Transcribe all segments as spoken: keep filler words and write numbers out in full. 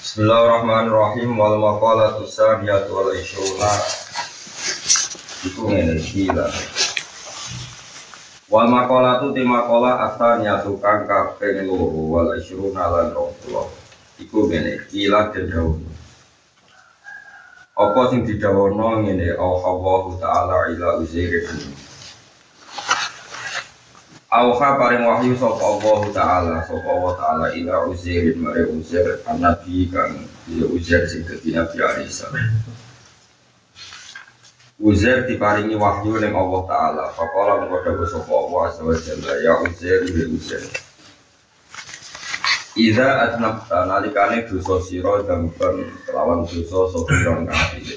Bismillahirrahmanirrahim wal maqalatu saniyatu wal ishruna iku ngene iki lho. Wal maqalatu ti maqalah asaniyatu kang kaping loro wal ishruna lan rongpuluh iku ngene iki la dawuh. Apa sing didhawuhna ngene Allah taala ila Uzair. Auha paring wahyu sapa Allah taala sapa Allah taala ila Uzair mare Uzair nabi kang ya Uzair sing dadi nabi Isa. Uzair diparingi wahyu ning Allah taala faqala mengko dawuh sapa Allah azza wa jalla ya Uzair ya Uzair. Iza atnabta nalikane dosa sira dampen kelawan dosa sopiron kang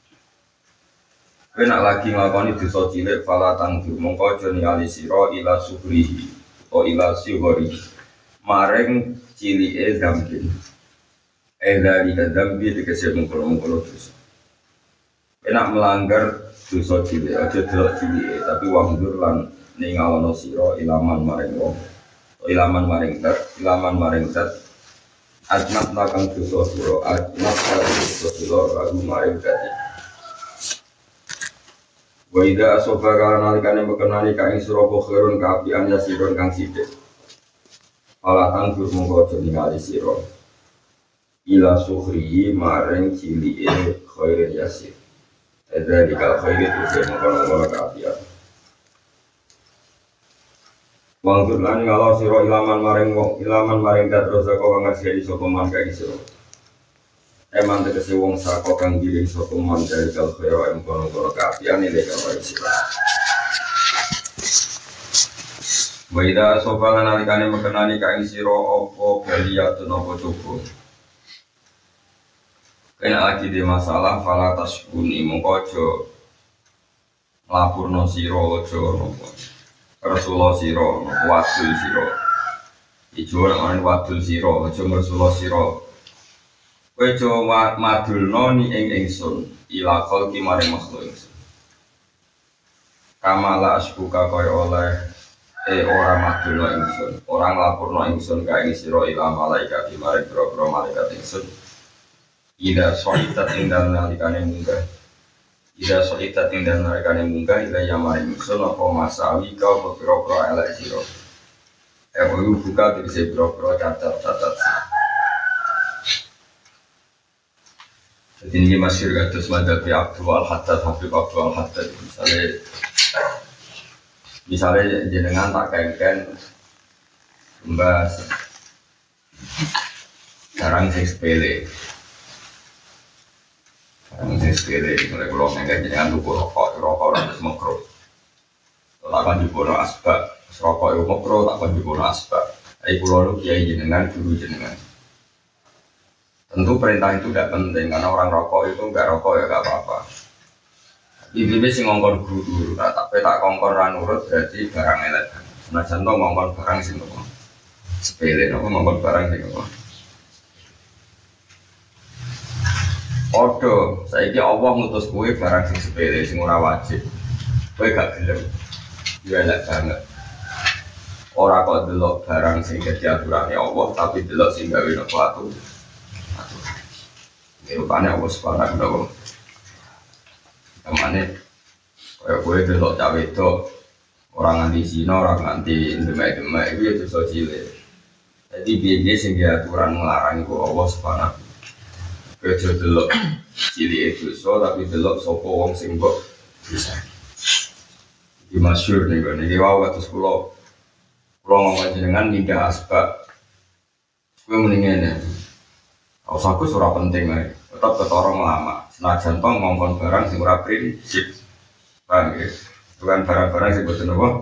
kena lagi nglakoni dosa cilik fala tangdur mongko aja ningali sira ila subrihi o ila sighori maring cilike dambi edari dambi dikasih mengkono-mengkono dosa kena melanggar dosa cilik aja delok cilike tapi wangdur lan ningawono sira ilaman maring wong ilaman maring tat ilaman maring tat adnat lakang dosa sira adnat dosa sira lagu maring tat. Wa idza asabaka nalikane bekenani ka ing sira khairun kaapian yasirun kang sithik. Ala anggur mongko aja ningali sira. Ila sukhri maring cilike khairun yasir. Ada di kal khairi itu mongko kaapian. Wanggur lan ngalo sira ilaman maring wong ilaman maring kadrosa kok ngasih sapa man ka sira. Eman tegese wong saka kang giring sapa man dari kal khaira em kono-kono kaapian ile karo sira. Wa ida sapa nalikane mekenani ka ing sira apa baliyatun apa cukup. Kena lagi di masalah fala tasbuni mongko aja lapurno sira aja napa. Rasulullah sira wadul sira. Ijo ora wadul sira aja Rasulullah sira. Kowe coba madulno ni ing ingsun ila khalqi maring makhluk ingsun. Kamala asbuka kaya oleh e ora madulno ingsun, ora nglapurno ingsun ka ing sira ila malaikat maring boro-boro malaikat ingsun. Ida soitat ing dalem nalikane munggah. Ida soitat ing dalem nalikane munggah ila ya maring ingsun apa masawi ka apa boro-boro elek sira. E buka dise boro-boro cacat-cacat. Jadi ini masyhur kados madhabi Abdul Al-Haddad, Habib Abdul Al-Haddad misalnya misalnya jenengan tak kengken membahas barang sing sepele barang sing sepele mulai kalau kengken jenengan tuku rokok, rokok harus makro tak akan dibono asbak rokok itu makro, tak akan dibono asbak tapi kalau lu kiai jenengan, guru jenengan tentu perintah itu tidak penting karena orang rokok itu enggak rokok ya enggak apa-apa. Ibu-ibu sih ngongkon guru, nah, tapi tak ngongkon ranurut berarti barang elek. Nah contoh ngongkon barang sih ngomong sepele, nopo ngongkon barang sih ngomong. Odo, saya kira Allah ngutus kue barang sing sepele, sing ora wajib. Kue gak gelem, dia elek banget. Orang kok delok barang sing jadi aturannya Allah, tapi delok sing gawe nopo atu. Rupanya aku sepakat dong. Kemana? Kayak gue delok cawe itu orang nganti Cina, orang nganti demek-demek itu itu so cilik. Jadi biaya sehingga aturan melarang itu Allah sepakat. Kerja delok cilik itu so tapi delok sopo wong sing mbok bisa. Iki masyhur nih gue nih wow waktu sekolah sekolah ngomong jenengan ninggah asbak. Gue mendingan Aus aku surah penting nih, tetap ketorong lama. Senajan toh ngomong barang sing ora prinsip, bang, bukan barang-barang sing betul nopo.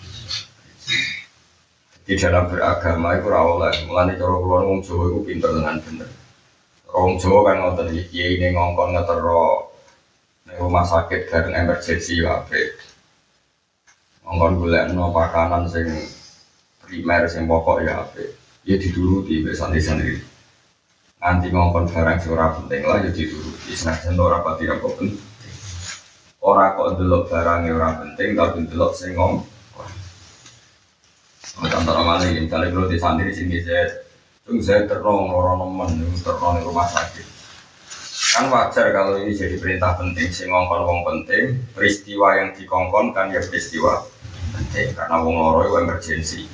Di dalam beragama itu rawoleh, mulai cara keluar ngomong Jawa itu pinter dengan bener. Orang Jawa kan ngotot iki ini ngongkon ngetero, nih rumah sakit gareng emergency wae. Ngongkon golek no pakanan sing primer sing pokok ya ape, ya dituruti besan-besan iki. Nanti ngomong barang surah penting lah jadi dulu senajan ora pati apa penting ora kok delok barangnya ora penting tapi delok sing ngomong contoh mana ini misalnya kalau di santri di sini saya Itu saya terong orang nemen, terong di rumah sakit. Kan wajar kalau ini jadi perintah penting, sing ngongkon wong penting, peristiwa yang dikongkon kan ya peristiwa penting karena wong loro itu emergensi.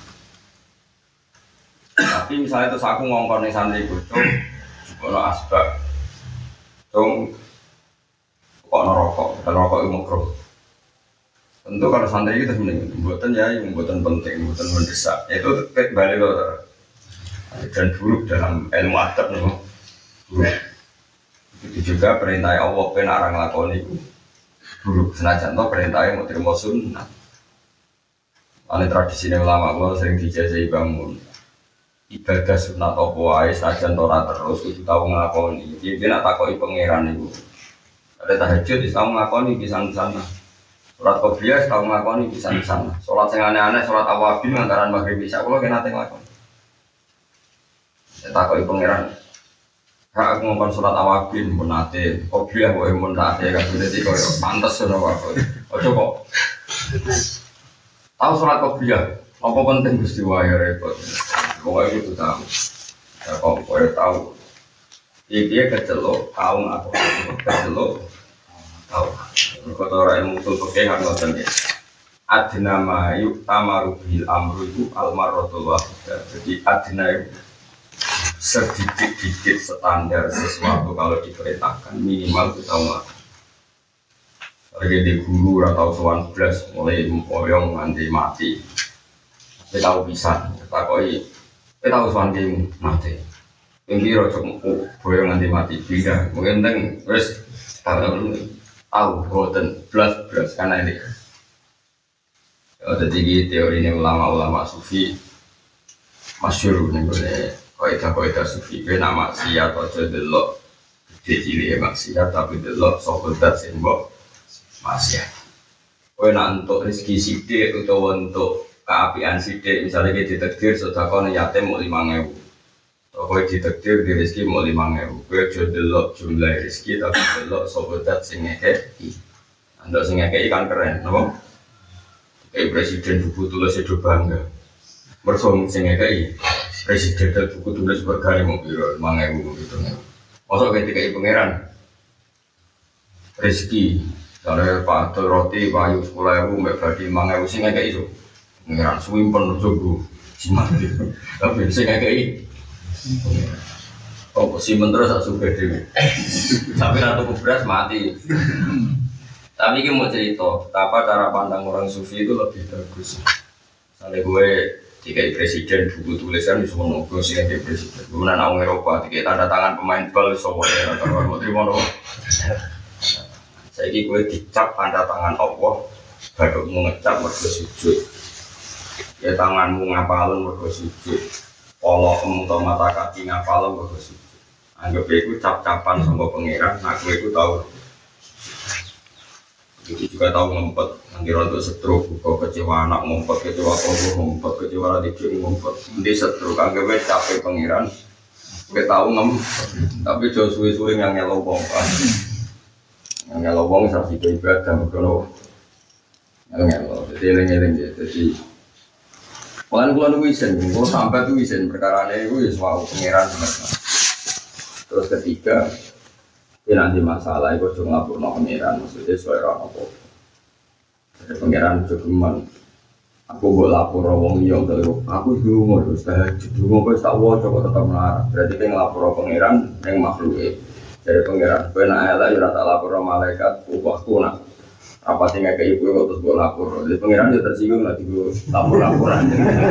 Tapi misalnya terus aku ngongkon ning santri bocor, ono asbab, dong, kok rokok, kalau rokok itu makruh. Tentu kalau santri itu mending, buatan ya, buatan penting, buatan mendesak, itu balik loh. Dan buruk dalam ilmu adab nih, buruk. Itu juga perintah Allah pun orang lakoni itu buruk. Senajan toh perintahnya mau terima sunnah. Ane tradisi ulama Allah sering dijajahi bangun ibadah sunnah apa wae senajan toh terus itu tahu ngelakoni. Dia dia nak takoi pangeran itu. Ada tahajud di tahu ngelakoni di sana. Sholat qobliyah tahu ngelakoni di sana. Sholat yang aneh-aneh, sholat awabin antara maghrib isya kalau kena ngelakoni. Saya takut pangeran. Kak aku ngomong surat awabin pun nate, kopiah boleh pun nate kan sudah di kau pantas sudah waktu. Ojo kok. Tahu surat kopiah, apa penting peristiwa ya repot. Pokoknya itu tahu. Ya kau boleh tahu. Dia kecelok, tahu aku kecelok, tahu. Kata orang yang mutul pakai hak ngoten ya. Adna ma yuk tamaru bil amru itu almarotul wahidah. Jadi adna itu sedikit-dikit standar sesuatu kalau diperintahkan minimal kita melakukan. Lagi di guru atau soal belas mulai mempoyong nanti mati. Kita tahu bisa, kita koi, kita tahu soal mati. Tinggi rojok boyong nanti mati beda. Mungkin teng terus tahu tahu boten belas belas karena ini. Ada tinggi teori ini ulama-ulama sufi masyhur nih boleh. Kaidah-kaidah sufi ke nama maksiat aja delok gede cilik maksiat tapi delok sokodat sing mbok maksiat. Kowe nak entuk rezeki sithik utawa entuk keapian sithik misalnya kita ditakdir sedekah yatim mau lima ribu. Kowe ditakdir di rezeki mau lima ribu. Kowe aja delok jumlah rezeki tapi delok sokodat sing ngekeki. Andok sing ngekeki kan keren, napa? Kayak presiden buku tulis itu bangga. Bersong sing ngekeki presiden dan buku tulis berkali mau biro mangewu gitu nih. Masuk ketika ibu pangeran rezeki, kalau pak roti payu sekolah ibu mbak badi mangewu sing kayak itu. Pangeran suwimpen jogo simati. Tapi sing kayak ini. Oh si menteri tak suka dewi. Tapi ratu beras mati. Tapi ini mau cerita, apa cara pandang orang sufi itu lebih bagus. Misalnya gue tiga presiden buku tulisan di semua nopo sih yang presiden. Kemudian orang Eropa tiga tanda tangan pemain bal semua ya kalau mau terima nopo. Saya ini gue dicap tanda tangan Allah, baru mau ngecap bersujud. Ya tanganmu ngapalun bersujud, polokmu atau mata kaki ngapalun bersujud. Anggap itu cap-capan sama pangeran, aku itu tahu. Itu juga tahu ngumpet, nanti rontok stroke, buka kecewa anak ngumpet, kecewa kobo ngumpet, kecewa adik ngumpet. Nanti stroke, anggapnya capek pangeran, gue tahu ngumpet, tapi jauh suwe-suwe yang ngelobong kan. Yang ngelobong salah satu ibadah, kalau ngel-ngel, jadi eleng-eleng ya, jadi makan kulan wisen, kalau sampai tuh wisen, perkara ini gue semua pangeran sebenarnya. Terus ketiga, ini nanti masalah itu cuma lapor no pangeran, maksudnya suara apa? Ada pangeran jogeman. Aku buat lapor orang yang terus. Aku dulu terus tahajud dulu, aku tak mau coba tetap melarang. Berarti kan lapor pangeran yang makhluk itu. Jadi pangeran, kau nak elak, jurah tak lapor malaikat, ubahku nak. Apa tinggal ke ibu kau terus buat lapor. Jadi pangeran juga tersinggung nanti gue lapor-laporan.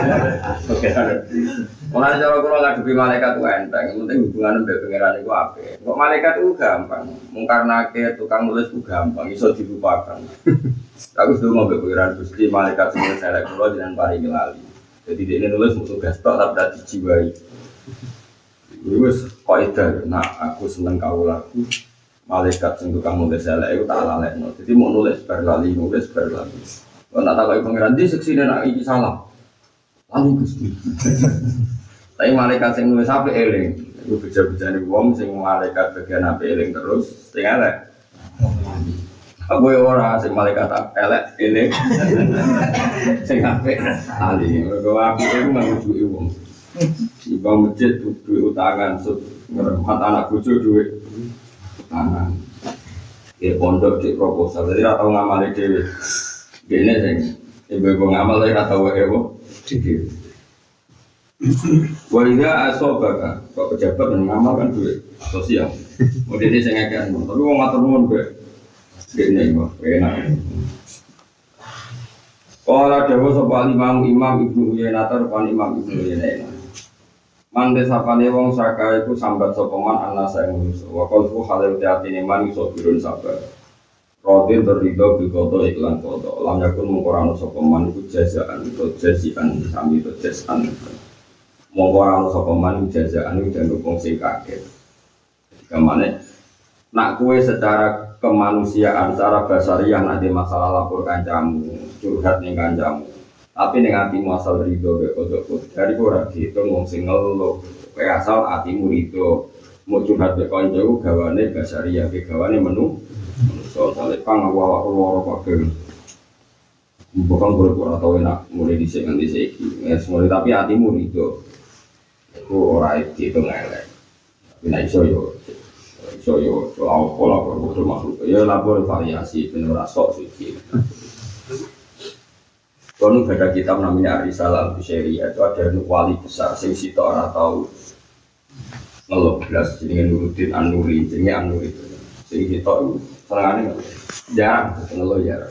Mulai cara kalau ngadepi malaikat itu enteng, yang penting hubungan dengan pangeran itu apa? Kok malaikat itu gampang, mengkarnake tukang nulis itu gampang, bisa dilupakan. Aku sudah mau pangeran Gusti malaikat semua saya keluar dengan pari ngelali. Jadi dia ini nulis untuk gastok tapi tidak dijiwai. Terus kaidah, nah aku seneng kau lagu. Malaikat sing tukang nulis elek itu tak lalekno. Jadi mau nulis berlali, nulis berlali. Kalau nak tahu pangeran di seksi nak iki salah. Lalu Gusti. Tapi malaikat sing nulis apik eling. Iku beja-bejane wong sing malaikat bagian apik eling terus sing elek. Aku ora sing malaikat elek eling. Sing apik ali. Mergo apik iku ngrujuki wong. Ibang masjid duit utangan, ngeremat anak bojo duit utangan. Ya pondok di proposal, jadi ratau ngamali dewi. Gini sih, ibu-ibu ngamal lagi ratau ewo. Walinya asobaka, kok pejabat dan ngamal kan duit sosial. Model ini saya ngekang, tapi mau ngatur nuwun be. Gini kok, enak. Kalau dewa soal imam imam ibnu Uyainah terpan imam ibnu Uyainah. Mande sapane wong saka iku sambat sopeman anak saya manusia. Wakalku halil teatine man iso birun sabar. Rodin terlido bilkoto iklan koto. Lam yakun mengkorano sopeman iku jazaan atau jazian sami atau jazan. Mengkorano sopeman iku jazaan iku dan dukung sing kaget. Kemana? Nak kue secara kemanusiaan, secara basariah nanti masalah lapor kancamu, curhat ning kancamu. Tapi ning atimu asal ridho be kodok dari ora diitung wong sing ngeluh. Kowe asal atimu ridho, mau curhat be kancamu gawane basariah, ke gawane menu. So sale pang awak loro kabeh. Bukan ora tau enak mulai dhisik nganti saiki. Wis mulai tapi atimu ridho. Iku ora diitung elek. Tapi nek iso yo iso yo soal pola produk makhluk. Ya lapor variasi ben ora sok suci. Kalau ada kitab namanya Ar-Risalah Al-Bushairi itu ada wali besar sing sito ora tau ngeluh blas jenenge Nuruddin An-Nuri jenenge An-Nuri itu sing sito senengane jarang ngeluh jarang.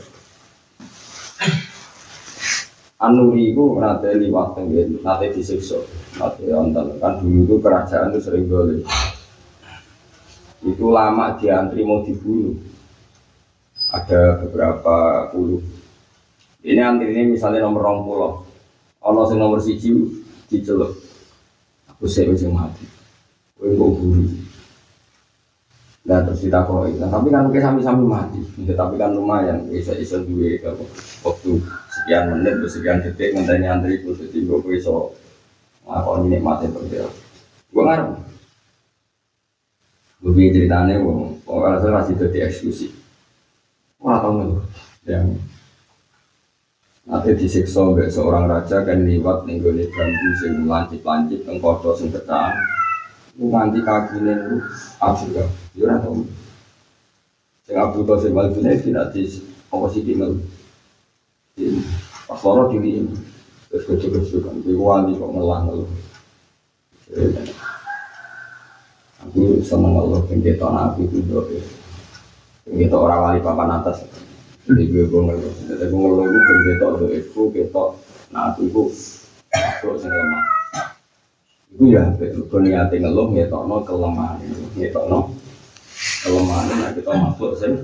An-Nuri itu nate liwat tenggen nate disiksa nate wonten kan dulu itu kerajaan itu sering golek itu lama diantri mau dibunuh ada beberapa puluh. Ini antri ini misalnya nomor rong pulau, ono sing nomor siji diceluk, aku sih sing mati, aku mau buru. Nah terus ditakoi, nah, tapi kan kita sami-sami mati, ya, tapi kan lumayan, bisa bisa duwe waktu sekian menit, sekian detik ngenteni antri itu, jadi gue bisa ngakon ini mati berdia. Gue ngarep, gue bikin ceritanya, gue kalau saya masih jadi eksklusif, gue nggak tahu nih, yang nanti disiksa oleh seorang raja kan liwat ning gone bambu sing lancip-lancip teng kodho sing pecah. Ku nganti kakine ku absurd. Yo ora tau. Sing absurd sing malune tidak di apa sih dimel. Pas loro diri. Terus kecil-kecil kan kuwi wali kok ngelang lho. Aku seneng Allah pengetan aku itu doa. Pengetan orang wali papan atas. Jadi gue ngeluh, jadi gue ngeluh itu bergetok do itu, getok, nah itu itu, itu sing lemah. Itu ya, gue niatin ngeluh, getok no kelemahan, getok no kelemahan, nah kita masuk sih.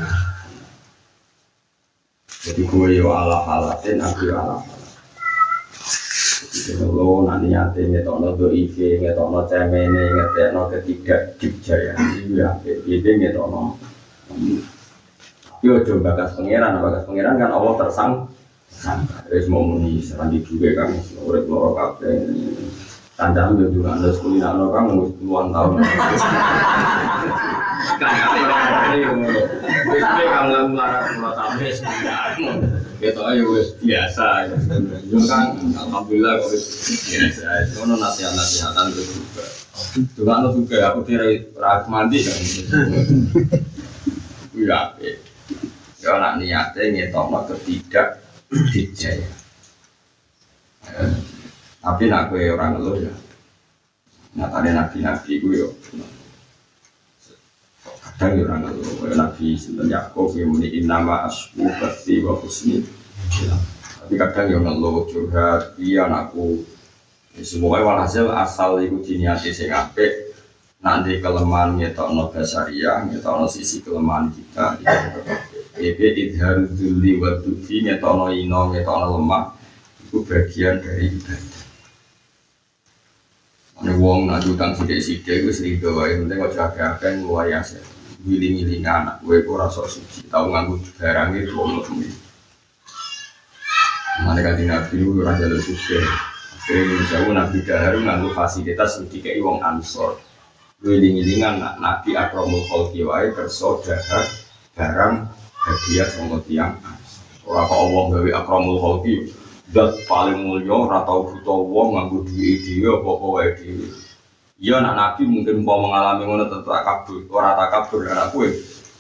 Jadi gue yo ala halatin, aku yo ala halatin. Jadi ngeluh, nanti niatin getok no do I V, getok no cemene, getok no ketidak dikjaya, itu ya, itu getok no. Yo coba bakas pangeran, bakas pangeran kan Allah tersang, terus mau muni serandi juga kan, urip loro kabeh. Tandang yo juga anda sekolah nak kan puluhan tahun. Kan yo, wis kamu melarang mulai sampai sekarang. Gitu aja wis biasa. Yo kan alhamdulillah wis biasa. Ono nasihat-nasihatan itu juga. Juga anu juga aku kira rak mandi kan. Iya. Ya nak niatnya ngetokno ketidak dijaya. Eh, tapi nak gue orang ngeluh ya. Nyatanya nabi-nabi gue yo. Kadang orang ngeluh. Nabi Sinten Yakub yang menikin nama asku berti wa husni. Tapi kadang yo ngeluh curhat. Iya anakku. Semuanya walhasil asal itu diniati sing apik. Nanti kelemahan ngetokno basariah, ngetokno sisi kelemahan kita. Ebe idhar dzulli wa dufi ngetokno ino ngetokno lemah itu bagian dari ibadah. Ana wong nak utang sithik-sithik wis rido wae penting aja akeh-akeh ngluwayase. Wiling-wiling anak kowe ora sok suci, tau nganggo barang itu ono duwe. Mane kan Nabi ora jalur sugih. Akhire jauh Nabi Dahar nganggo fasilitas sing dikeki wong Ansor. Wiling-wilingan nak Nabi akramul khalqi wae kersa dahar barang hadiah sama tiang. Ora kok Allah gawe akramul khalqi zat paling mulia ora tau butuh wong nganggo duwe dhewe apa-apa wae dhewe. Iya anak nabi mungkin mau mengalami ngono tentu takabur, ora takabur anak kowe.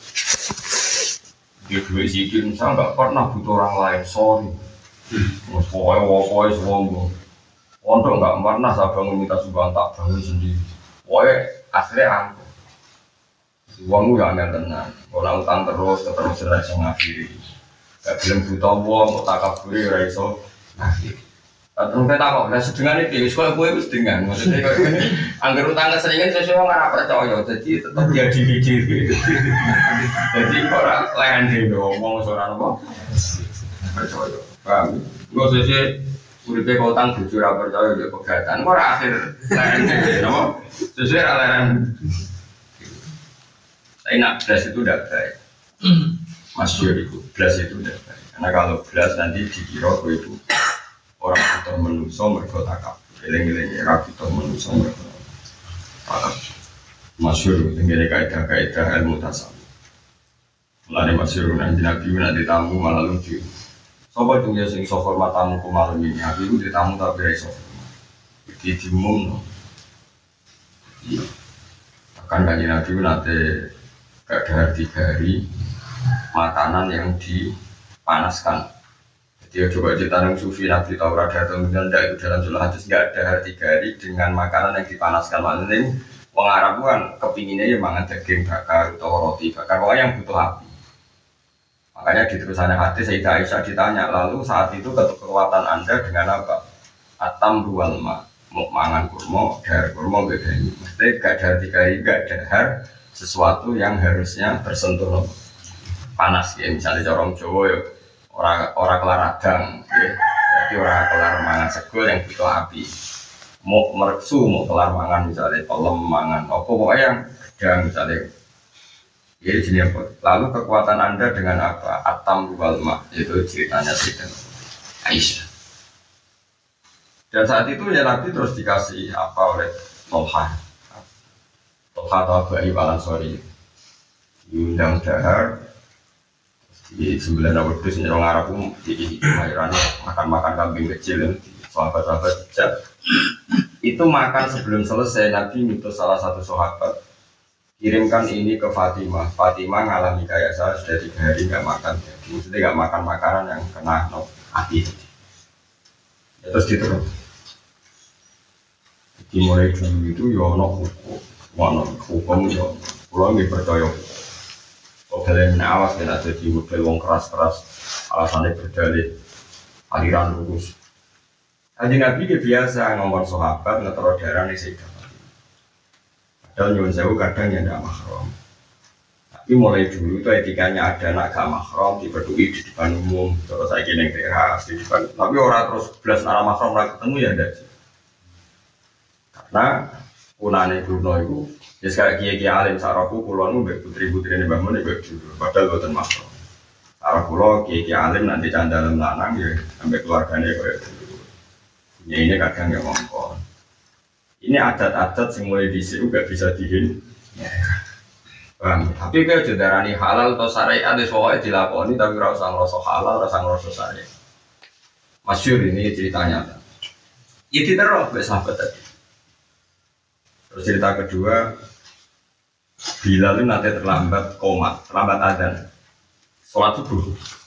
Dia duwe sikil misal enggak pernah butuh orang lain, sorry. Wes pokoke wokoe sombong. Untuk enggak pernah saya bangun minta sumbangan tak bangun sendiri. Pokoke asli aku. Uangmu ya angel tenan. Kalau utang terus terus ora iso ngakhiri. Gak gelem buta wong kok takabure ora iso ngakhiri. Terus kita kok lah sedengane dhewe kowe kowe wis dengan maksudnya koyo ngene angger utang keseringan sesuatu ora percaya jadi tetep dia diri-diri. Jadi ora layan dhewe ngomong ora napa percaya. Paham? Engko sesuk uripe kok utang jujur ora percaya ya pegatan ora akhir layan dhewe napa sesuk ora layan. Saya nak belas itu udah baik. Masyur itu belas itu udah baik. Karena kalau belas nanti dikira itu orang kita menuso mereka takab, eleng-eleng orang kita menuso mereka takab. Masyur tinggal kaidah-kaidah ilmu tasawuf. Mulane masyur nanti nabi nanti tamu malah lucu. Sopo itu ya sing so hormat tamu ku malam ini. Aku itu tamu tapi iso hormat. Iki dimum no. Iya. Akan kanjeng nabi nanti gak ada tiga hari makanan yang dipanaskan. Jadi coba cerita yang sufi nabi Taurat atau kemudian itu dalam surah hadis nggak ada hari tiga hari dengan makanan yang dipanaskan. Maksudnya orang Arab kan kepinginnya ya mangan daging bakar atau roti bakar, pokoknya yang butuh api. Makanya di terusannya hadis Sayyidah Aisyah ditanya, lalu saat itu kekuatan anda dengan apa? Atam ruwal ma, mau mangan kurma, dahar kurma beda ini. Maksudnya nggak ada tiga hari nggak dahar sesuatu yang harusnya tersentuh panas ya, misalnya corong Jawa ya orang orang kelar radang ya. Jadi orang kelar mangan segol yang butuh api mau merksu mau kelar mangan misalnya tolong mangan apa pokoknya yang gedang misalnya ya di sini apa lalu kekuatan anda dengan apa atam wal ma itu ceritanya Sayyidah Aisyah dan saat itu ya Nabi terus dikasih apa oleh Tolha Tolha atau Abai Walansori diundang dahar di sembilan awal itu senyum Arab pun di kemahiran makan-makan kambing kecil sahabat-sahabat hijab itu makan sebelum selesai Nabi minta salah satu sahabat kirimkan ini ke Fatimah. Fatimah ngalami kayak saya sudah tiga hari nggak makan jadi maksudnya nggak makan makanan yang kena no, api ya, terus diterus dimulai dulu itu ya no hukum mana hukum ya pulang dipercaya. Kalau kalian awas kena jadi model wong keras-keras alasannya berdalih aliran lurus. Kanjeng Nabi biasa ngomong sahabat ngetero darah nih Sayyidah Fatimah. Padahal nyuwun sewu kadang ya ndak mahram. Tapi mulai dulu itu etikanya ada anak gak mahram dipeduli di depan umum. Terus saya kira teras di depan. Tapi orang terus belas arah mahram ora ketemu ya ndak. Karena punane Bruno itu ya sekali kiai-kiai alim saraku kulon mbek putri-putri ini bangun mbek dulu padahal boten makro. Sarah kulo kiai-kiai alim nanti candalem lanang ya sampai keluarganya kayak dulu. Ya ini kadang ya ngomong. Ini adat-adat yang mulai dhisik gak bisa dihin. Ya. Bang, tapi kalau jendarani halal atau syariat wis pokoke dilakoni tapi ora usah ngrasa halal, ora usah ngrasa syariat. Masyhur ini ceritanya. Itu terus mbek sahabat tadi. Terus cerita kedua, Bilal itu nanti terlambat komat, terlambat adzan, sholat subuh.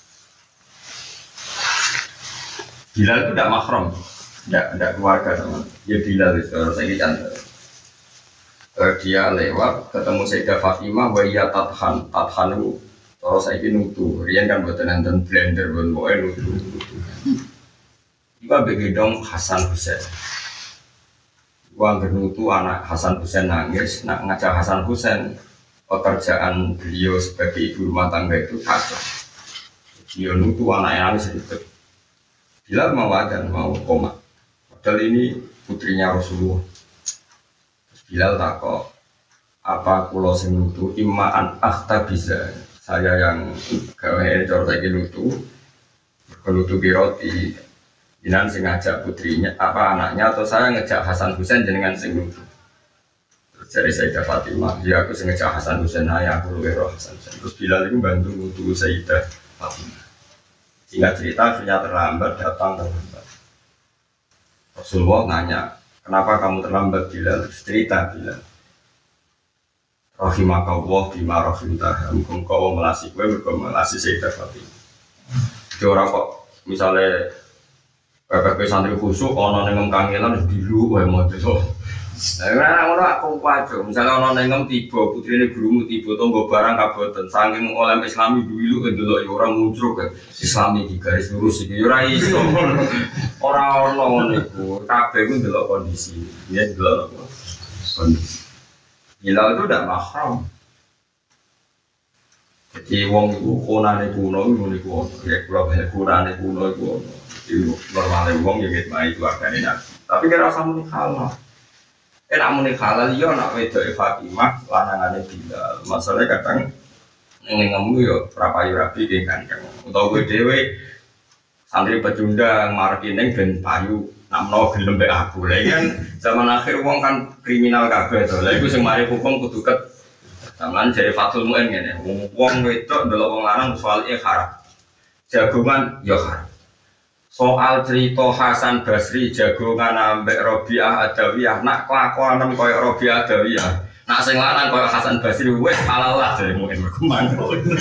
Bilal itu tidak mahram, tidak tidak keluarga sama. Dia Bilal itu harus saya cantik. Dia lewat ketemu Sayyidah Fatimah, waya tathan, tathan itu terus saya nutu. Rian kan buat nonton blender, buat boy nutu. Iba begedong Hasan Husain. Uang bernutu anak Hasan Husain nangis, nak ngajak Hasan Husain pekerjaan beliau sebagai ibu rumah tangga itu kacau. Dia nutu anaknya nangis sedikit. Bilal mau adan, mau koma. Padahal ini putrinya Rasulullah. Bilal takut, apa kulo sing nutu imaan akhta bisa. Saya yang gawe cor saiki nutu, nutu biroti. Jinan sing ngajak putrinya, apa anaknya atau saya ngejak Hasan Husain jenengan sing nutu. Terus dari Sayyidah Fatimah, ya aku sing ngejak Hasan Husain, ayah aku luwe roh Hasan Husain. Terus Bilal itu bantu nutu Sayyidah Fatimah. Singkat cerita, akhirnya terlambat, datang terlambat. Rasulullah nanya, kenapa kamu terlambat Bilal? Cerita Bilal. Rahimakallah bima rahimtah. Mungkin kau melasi gue, mungkin melasi Sayyidah Fatimah. Jadi orang kok misalnya P P P santri khusuk, ono nengem kangelan biru, gue mau tuh. Nah, orang orang aku wajar. Misalnya ono nengem tiba, putri ini gurumu tiba, tunggu barang kabotan. Saking oleh Islami dulu, itu loh orang muncul ke Islami di garis lurus itu. Orang iso, orang orang itu, kabeh itu dulu kondisi, dia dulu kondisi. Hilal itu tidak mahram. Jadi wong itu konane kuno itu nih kuno, ya kalau banyak konane kuno itu, itu normalnya wong yang gitu itu agaknya nabi. Tapi kira rasa muni halal. Eh nak muni halal yo nak wedok Fatimah lanangane Bilal. Masalahnya kadang ning ngemu yo prapayu rabi ki kandang. Utawa kowe dhewe santri pecundang mareki ning ben payu namno gelem mbek aku. Lah kan zaman akhir wong kan kriminal kabeh to. Lah iku sing mari hukum kudu ket. Zaman jare Fatul Muin ngene. Wong wedok ndelok wong lanang soalé haram. Jagongan yo haram. Soal cerita Hasan Basri jagongan ambek Robiah Adawiyah nak kelakuanem koyo Robiah Adawiyah nak sing lanang koyo Hasan Basri wis halal lah jare mungkin berkembang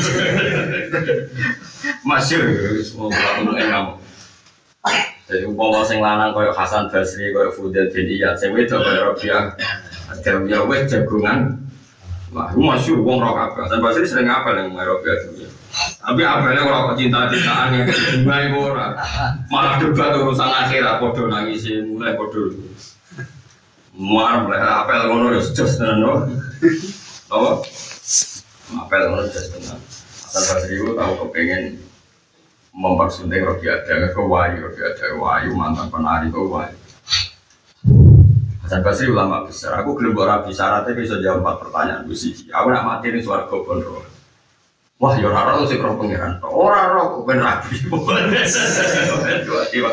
masyhur semua mung enak jadi umpama sing lanang koyo Hasan Basri koyo Fudail bin Iyad sing wedok koyo Robiah Adawiyah wis jagongan wah masyhur wong ro kabeh Hasan Basri sering apa nang Robiah Adawiyah. Tapi apalagi kalau cinta-cintaan yang mulai ora malah debat urusan akhirat podo nangis mulai podo muar mulai apel ngono ya jos tenan no apa apel ngono jos tenan Hasan Basri itu tahu kepengen mempersunting Robiah Adawiyah ke Wahyu Robiah Adawiyah Wahyu mantan penari ke Wahyu Hasan Basri ulama besar aku gelem ora bisa syaratnya bisa jawab empat pertanyaan siji aku nak mati ning swarga bondo. Wah, ya ora ora sing roh pangeran. Ora ora kok ben rabi. Dua tiba.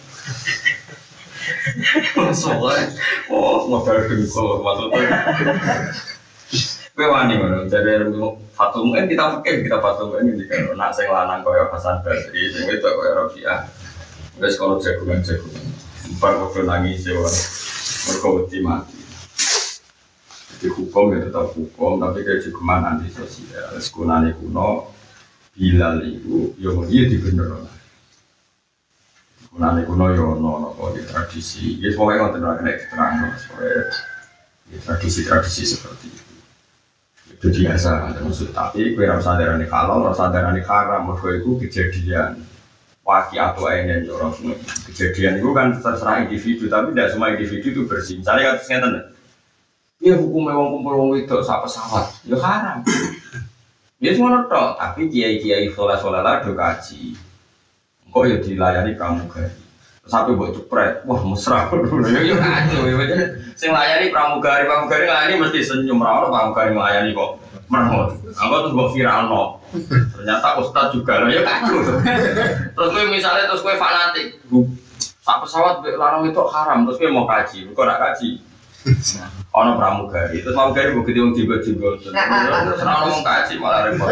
Masalah. Oh, modal dengkul maksudnya. Kowe wani ngono, jare Fatul Muin kita pikir kita Fatul Muin iki kan nak sing lanang koyo Hasan Basri, sing wedok koyo Robiah. Wis kono jagungan-jagungan. Bar kok nangis yo. Mergo wedi mati. Jadi hukum ya tetap hukum, tapi kayak cukuman anti sosial. Sekunane kuno Bilal itu, yo dia di bener. Sekunane kuno yo no no di tradisi. Ya pokoknya nggak terlalu kena terang, soalnya tradisi-tradisi seperti itu. Itu biasa, maksud tapi kue rasa darani halal, rasa darani haram. Mereka itu kejadian waki atau ainen orang semua. Kejadian itu kan terserah individu, tapi tidak semua individu itu bersih. Misalnya kasusnya tanda. Iya hukumnya wong kumpul wong wedok sak pesawat, ya haram. Ya semua tok, tapi kiai-kiai soleh-soleh lah do kaji. Kok ya dilayani pramugari. Sampai buat cepret, wah mesra. Ya ya kacau ya. Sing layani pramugari, pramugari layani mesti senyum ra ono pramugari layani kok meremot. Angko terus mbok viralno. Ternyata ustaz juga lho ya kacau. Terus kowe misalnya terus kowe fanatik, sak pesawat larang itu haram, terus kowe mau kaji, kok ora kaji. Ono pramugari, terus pramugari mbok gede wong jenggot-jenggot. Terus ora ngomong kaji malah repot.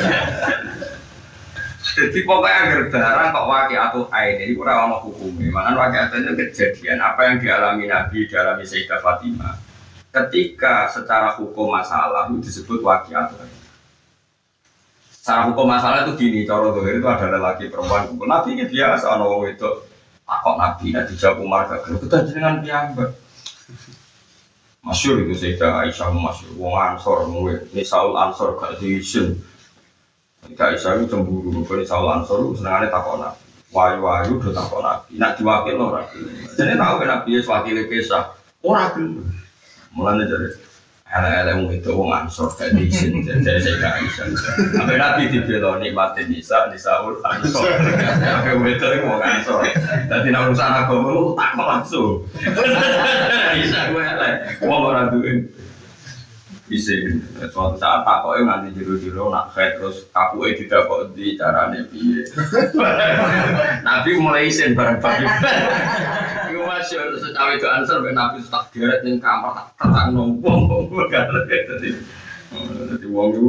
Jadi pokoknya agar darah kok waki atau ain ini kurang ono hukumnya. Mana waki atau itu kejadian apa yang dialami Nabi, dialami Sayyidah Fatimah. Ketika secara hukum masalah itu disebut waki atau ain. Secara hukum masalah itu gini, cara dohir itu ada lelaki perempuan kumpul. Nabi ini biasa, ono wong itu takut Nabi, nanti dijawab Umar gak kita dengan piyambak. Masyur itu Sayyidah Aisyah masyur, wong Ansor, ini Saul Ansor gak diisin. Sayyidah Aisyah itu cemburu, ini Saul Ansor itu senangannya takut Nabi. Wayu-wayu udah takut Nabi, nak diwakil orang. Jadi tahu kan Nabi itu wakilnya kisah, orang. Mulanya jadi ele-ele itu wong Ansor gak diisin, jadi Sayyidah Aisyah. Sampai Nabi dibela nikmatin Nisa, Nisaul Ansor. Sampai itu wong Ansor. Jadi nak urusan agama lu takut langsung. Aisyah gue ele, wong orang duin. Bisa, suatu saat takutnya nganti jero-jero nak head terus kakunya tidak kok di caranya piye. Nabi mulai isin bareng-bareng. Iku masih secawe itu answer, Nabi tak geret ning kamar tak terang nombong. Jadi, jadi wong itu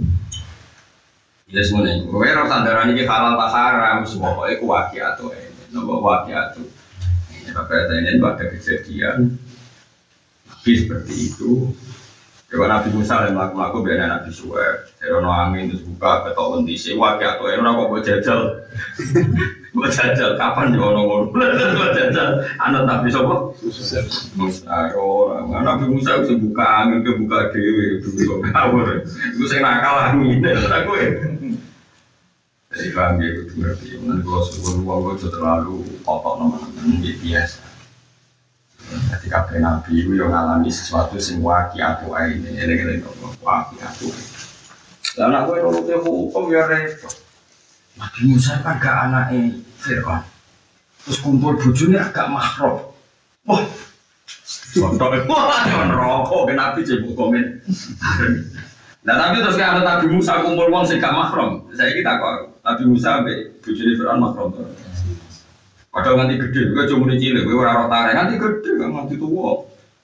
ya semuanya. Gue rasa darah ini halal tak haram, semua pokoknya ku waki atau ini, nopo waki atau. Bapak saya ini ada kejadian Nabi seperti itu. Kalau Nabi Musa yang melakukan biar Nabi Suhaib, saya angin terus buka ketok bunti sewa kayak atau orang kok buat jajal, buat jajal kapan di orang-orang buat jajal, anak Nabi siapa? Musa orang, Nabi Musa bisa buka angin ke buka dewi, itu kawur, itu saya nakal angin, aku ya. Jadi kami itu berarti, nanti kalau sebelum uang itu terlalu kotor nama-nama biasa. Jadi kabeh nabi itu yang ngalami sesuatu sing waki atau ini, eleng-eleng kok waki atau. Lah anak kowe nuruti hukum ya repot. Nabi Musa kan gak anake Firaun. Terus kumpul bojone agak mahram. Wah. Contoh wah neraka nabi jebuk komen. Nah tapi terus kan Nabi Musa kumpul wong sing gak mahram. Saiki tak kok Nabi Musa mbek bojone Firaun mahram. Padahal nanti gede, gue cuma di cilik, gue orang tarik nanti gede, kan nanti tua.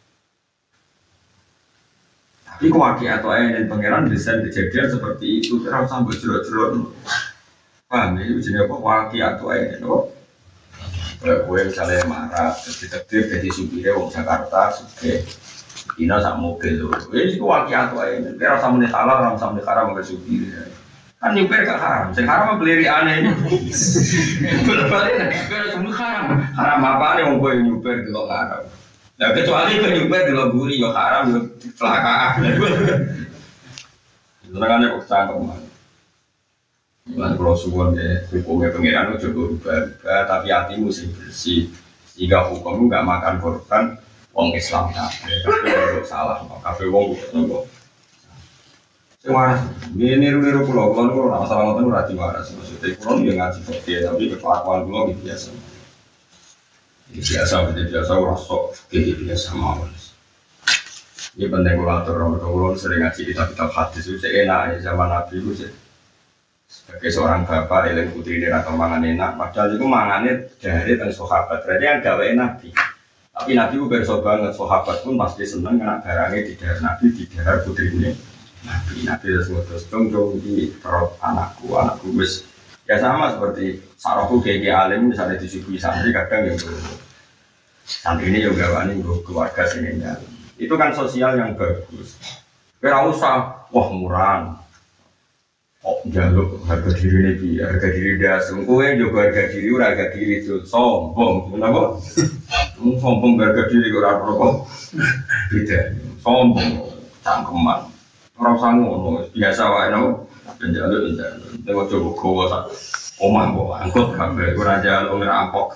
Tapi kewaki atau ayah dan pangeran desain kejadian seperti itu, terus sampai jeruk-jeruk. Paham ya, jenis apa waki atau ayah dan apa? Gue misalnya marah, terus jadi supirnya wong Jakarta, suke, ina sama mobil loh. Ini itu waki atau ayah, terus sama nih salah, orang sama nih karam nggak supirnya. Kan nyuper gak haram, sing haram beli aneh ini. Berbalik, nyuper cuma haram. Haram apa nih mau gue nyuper dulu haram. Nah kecuali gue nyuper dulu gurih, yo haram, yo kecelakaan. Itu kan ada cangkem man. Bukan kalau suwon ya, hukumnya pengiran itu coba rubah-rubah, tapi hatimu sih bersih. Jika hukum nggak makan korban, wong Islam kafe, kafe wong salah, kafe wong nggak. Waras, ini niru-niru pulau, pulau itu orang masalah ngotot rati waras. Maksudnya pulau dia ngaji fakir, tapi kelakuan pulau itu biasa. Ini biasa, betul biasa, rasok, kayak biasa mawas. Ini penting kulator, orang pulau sering ngaji kitab-kitab hadis itu enak ya zaman Nabi itu sih. Sebagai seorang bapak, eling putri dia atau mangan enak, padahal itu mangannya dari tentang sahabat. Berarti yang gawe Nabi. Tapi Nabi itu berso banget, sahabat pun pasti seneng karena barangnya di daerah Nabi, di daerah putri ini. Nabi, Nabi terus dong dong di perut anakku, anakku wis ya sama seperti sarahku kayak alim misalnya disuguhi santri kadang yang tuh santri ini juga wani keluarga sini ya. Itu kan sosial yang bagus. Kira usah wah murah, oh jaluk harga diri ini bi harga diri dasar, kowe juga harga diri harga diri itu sombong, kenapa? Sombong harga diri orang rokok, beda, sombong, cangkeman. Orang sanggup, biasa wae no, penjalur penjalur. Tengok coba kau sak, omah kau angkut kabel, kurang jalur ngerampok.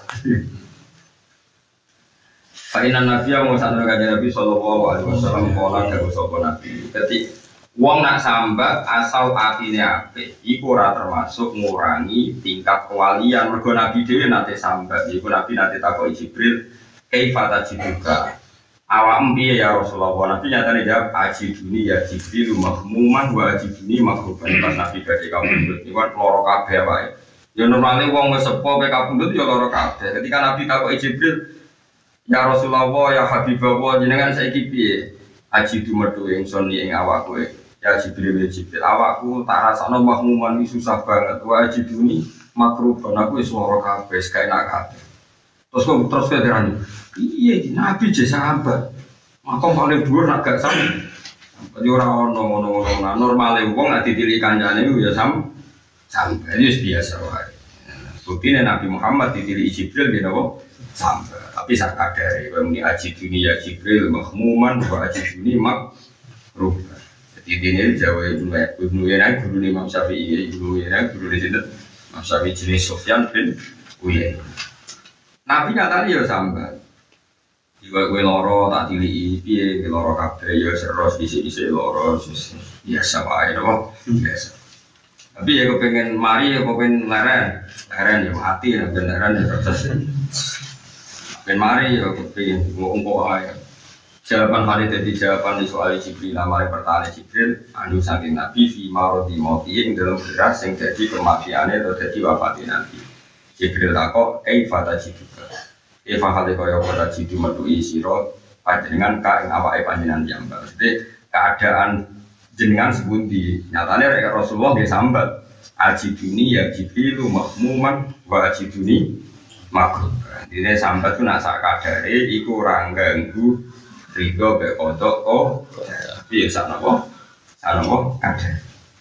Fainan Nabi yang mau santri kajian Nabi Sallallahu Alaihi Wasallam kola dari sopo Nabi. Ketik, uang nak sambat asal hatinya ape, iku ora termasuk ngurangi tingkat kewalian. Mergo Nabi dewi nate sambat, iku Nabi nate takoi Jibril, kaifata jibuka. Awak empi ya Rasulullah, Nabi nyatanya jawab aji duni ya Jibril mahmuman wa aji duni makruban. Pas Nabi badai kabundut, ini kan loro kabeh wae. Ya normalnya wong wis sepo pe kabundut ya loro kabeh. Ketika Nabi takoki Jibril, ya Rasulullah ya Habibullah jenengan saiki piye? Aji du metu ingsun ing awakku. Ya Jibril ya Jibril, awakku tak rasakno mahmuman iki susah banget. Wa aji duni makruban, aku wis loro kabeh, gak enak kabeh. Terus kok terus ke terani. Iya, Nabi je sahabat. Makom paling dhuwur nak gak sam. Jadi ora ono ngono-ngono normale wong nek ditilik kancane ya sam. Sampai wis biasa wae. Buktine Nabi Muhammad ditilik Jibril nggih napa? Sampai. Tapi sak kadare kowe muni aji dunia Jibril mahmuman wa aji dunia makruh. Jadi dene Jawa Ibnu Uyainah guru Imam Syafi'i, Ibnu Uyainah guru di situ. Imam Syafi'i jenis Sufyan bin Uyainah. Nabi nyatane ya sambat. Jika gue loro tak tilii, piye gue loro kabeh ya seros isi-isi loro biasa wae napa biasa. Tapi ya gue pengen mari ya gue pengen leren, leren ya mati ya ben leren ya proses. Ben mari ya gue pengen ngomong ae. Jawaban hari tadi jawaban soal Jibril namanya pertanyaan Jibril anu saking Nabi fi marodi mati ing dalam beras yang jadi kematiannya atau jadi wafatnya Nabi. Jibril takok ei fata jiduka. Eva hale kaya ora jidu metu sira panjenengan ka ing awake panjenengan piyambak. Jadi keadaan jenengan sepundi? Nyatane rek Rasulullah nggih sambat. Ajiduni ya Jibril mahmuman wa ajiduni makruh. Ini sampai tuh nak sak kadare iku ora ganggu rido be kodok oh biasa napa sanopo kadare.